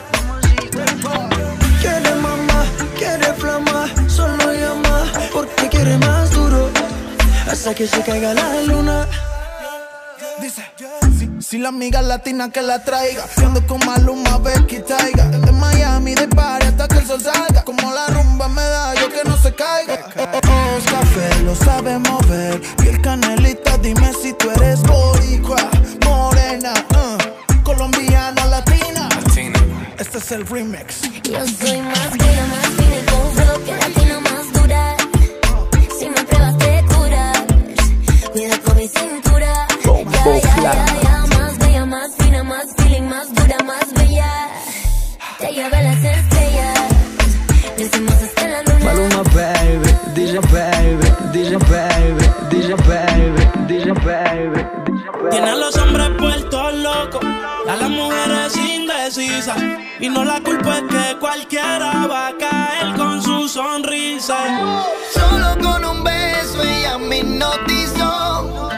Quiere mamá, quiere flama, solo llama porque quiere más duro. Hasta que se caiga la luna. Dice, si, si la amiga latina que la traiga. Yo ando con Maluma, Becky, Tyga. De Miami, de party hasta que el sol salga. Como la rumba me da, yo que no se caiga. Oh, café, lo sabe mover. Piel canelita, dime si tú eres boricua, morena, uh, colombiana, latina. Latina. Este es el remix. Yo soy más bella, más fina y con flow, que latina más dura. Si me pruebas te curas. Cuida con mi cintura. Ya, ya, ya, ya, más bella, más fina, más feeling, más dura, más bella. Te llevé las estrellas. Decimos hasta la luna. Maluma baby, D J baby, D J baby, D J baby, D J baby. Tiene a los hombres puestos locos, a las mujeres indecisas. Y no la culpa es que cualquiera va a caer con su sonrisa. Solo con un beso ella me hipnotizó.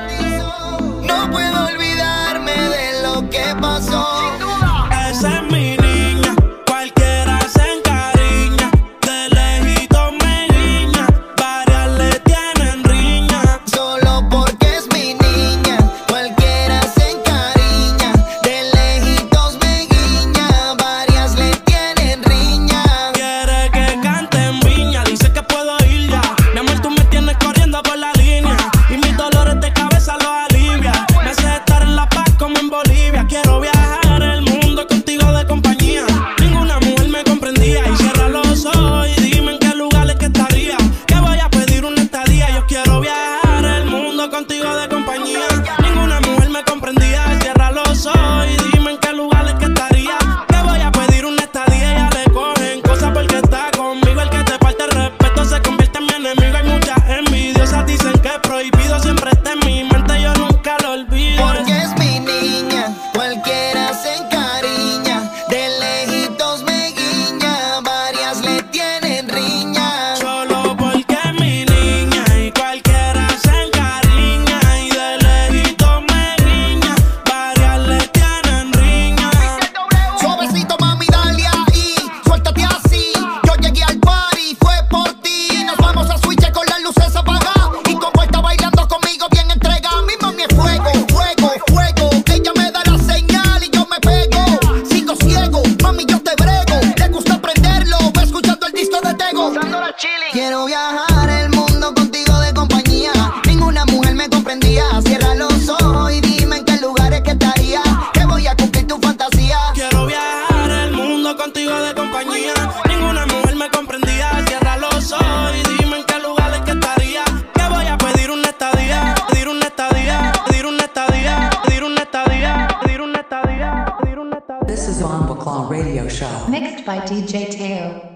No puedo olvidarme de lo que pasó. Esa es mi niña, cualquiera se encariña. De lejito me guiña, varias le tienen riña. Solo porque es mi niña, cualquiera se encariña. De lejitos me guiña, varias le tienen riña. Quiere que cante en viña, dice que puedo ir ya. Mi amor, tú me tienes corriendo por la línea. Y mis dolores de cabeza los alivia. Me hace estar en La Paz como en Bolivia. Quiero viajar el mundo contigo de compañía. Ninguna mujer me comprendía. Y cierra los ojos y dime en qué lugares que estaría. Que voy a pedir una estadía. Yo quiero viajar el mundo contigo de compañía. Ninguna mujer me comprendía. Cierra los ojos y dime en qué lugares que estaría. Que voy a pedir una estadía. Ya le cogen cosas porque está conmigo. El que te falta el respeto se convierte en mi enemigo. Hay muchas envidiosas, dicen que es prohibido. Siempre está en mi mente, yo nunca lo olvido. Porque es mi niña, cualquiera se encariña. De lejitos me guiña, varias le tienen riña. Solo porque es mi niña y cualquiera se encariña. Y de lejito me guiña, varias le tienen riña. Suavecito mami, dale ahí, suéltate así. Yo llegué al party, fue por ti. Nos vamos a switch con las luces apagadas. Y como está bailando conmigo bien entregada. Mi mami es fuego, fuego, fuego. Ella me da la señal y yo me pego. Sigo ciego, mami yo te brego. Le gusta aprenderlo, va escuchando el disco de Tego. Quiero viajar el mundo contigo de compañía. Ninguna mujer me comprendía. Cierra los ojos y dime en qué lugares que estaría. Que voy a cumplir tu fantasía. Quiero viajar el mundo contigo de compañía. Ninguna mujer me comprendía. Cierra los ojos y dime en qué lugares que estaría. Que voy a pedir una estadía. Pedir una estadía. Pedir una estadía. Pedir una estadía. Pedir una estadía. Pedir una estadía. This is Bomba Claw Radio Show. Mixed by D J Teo.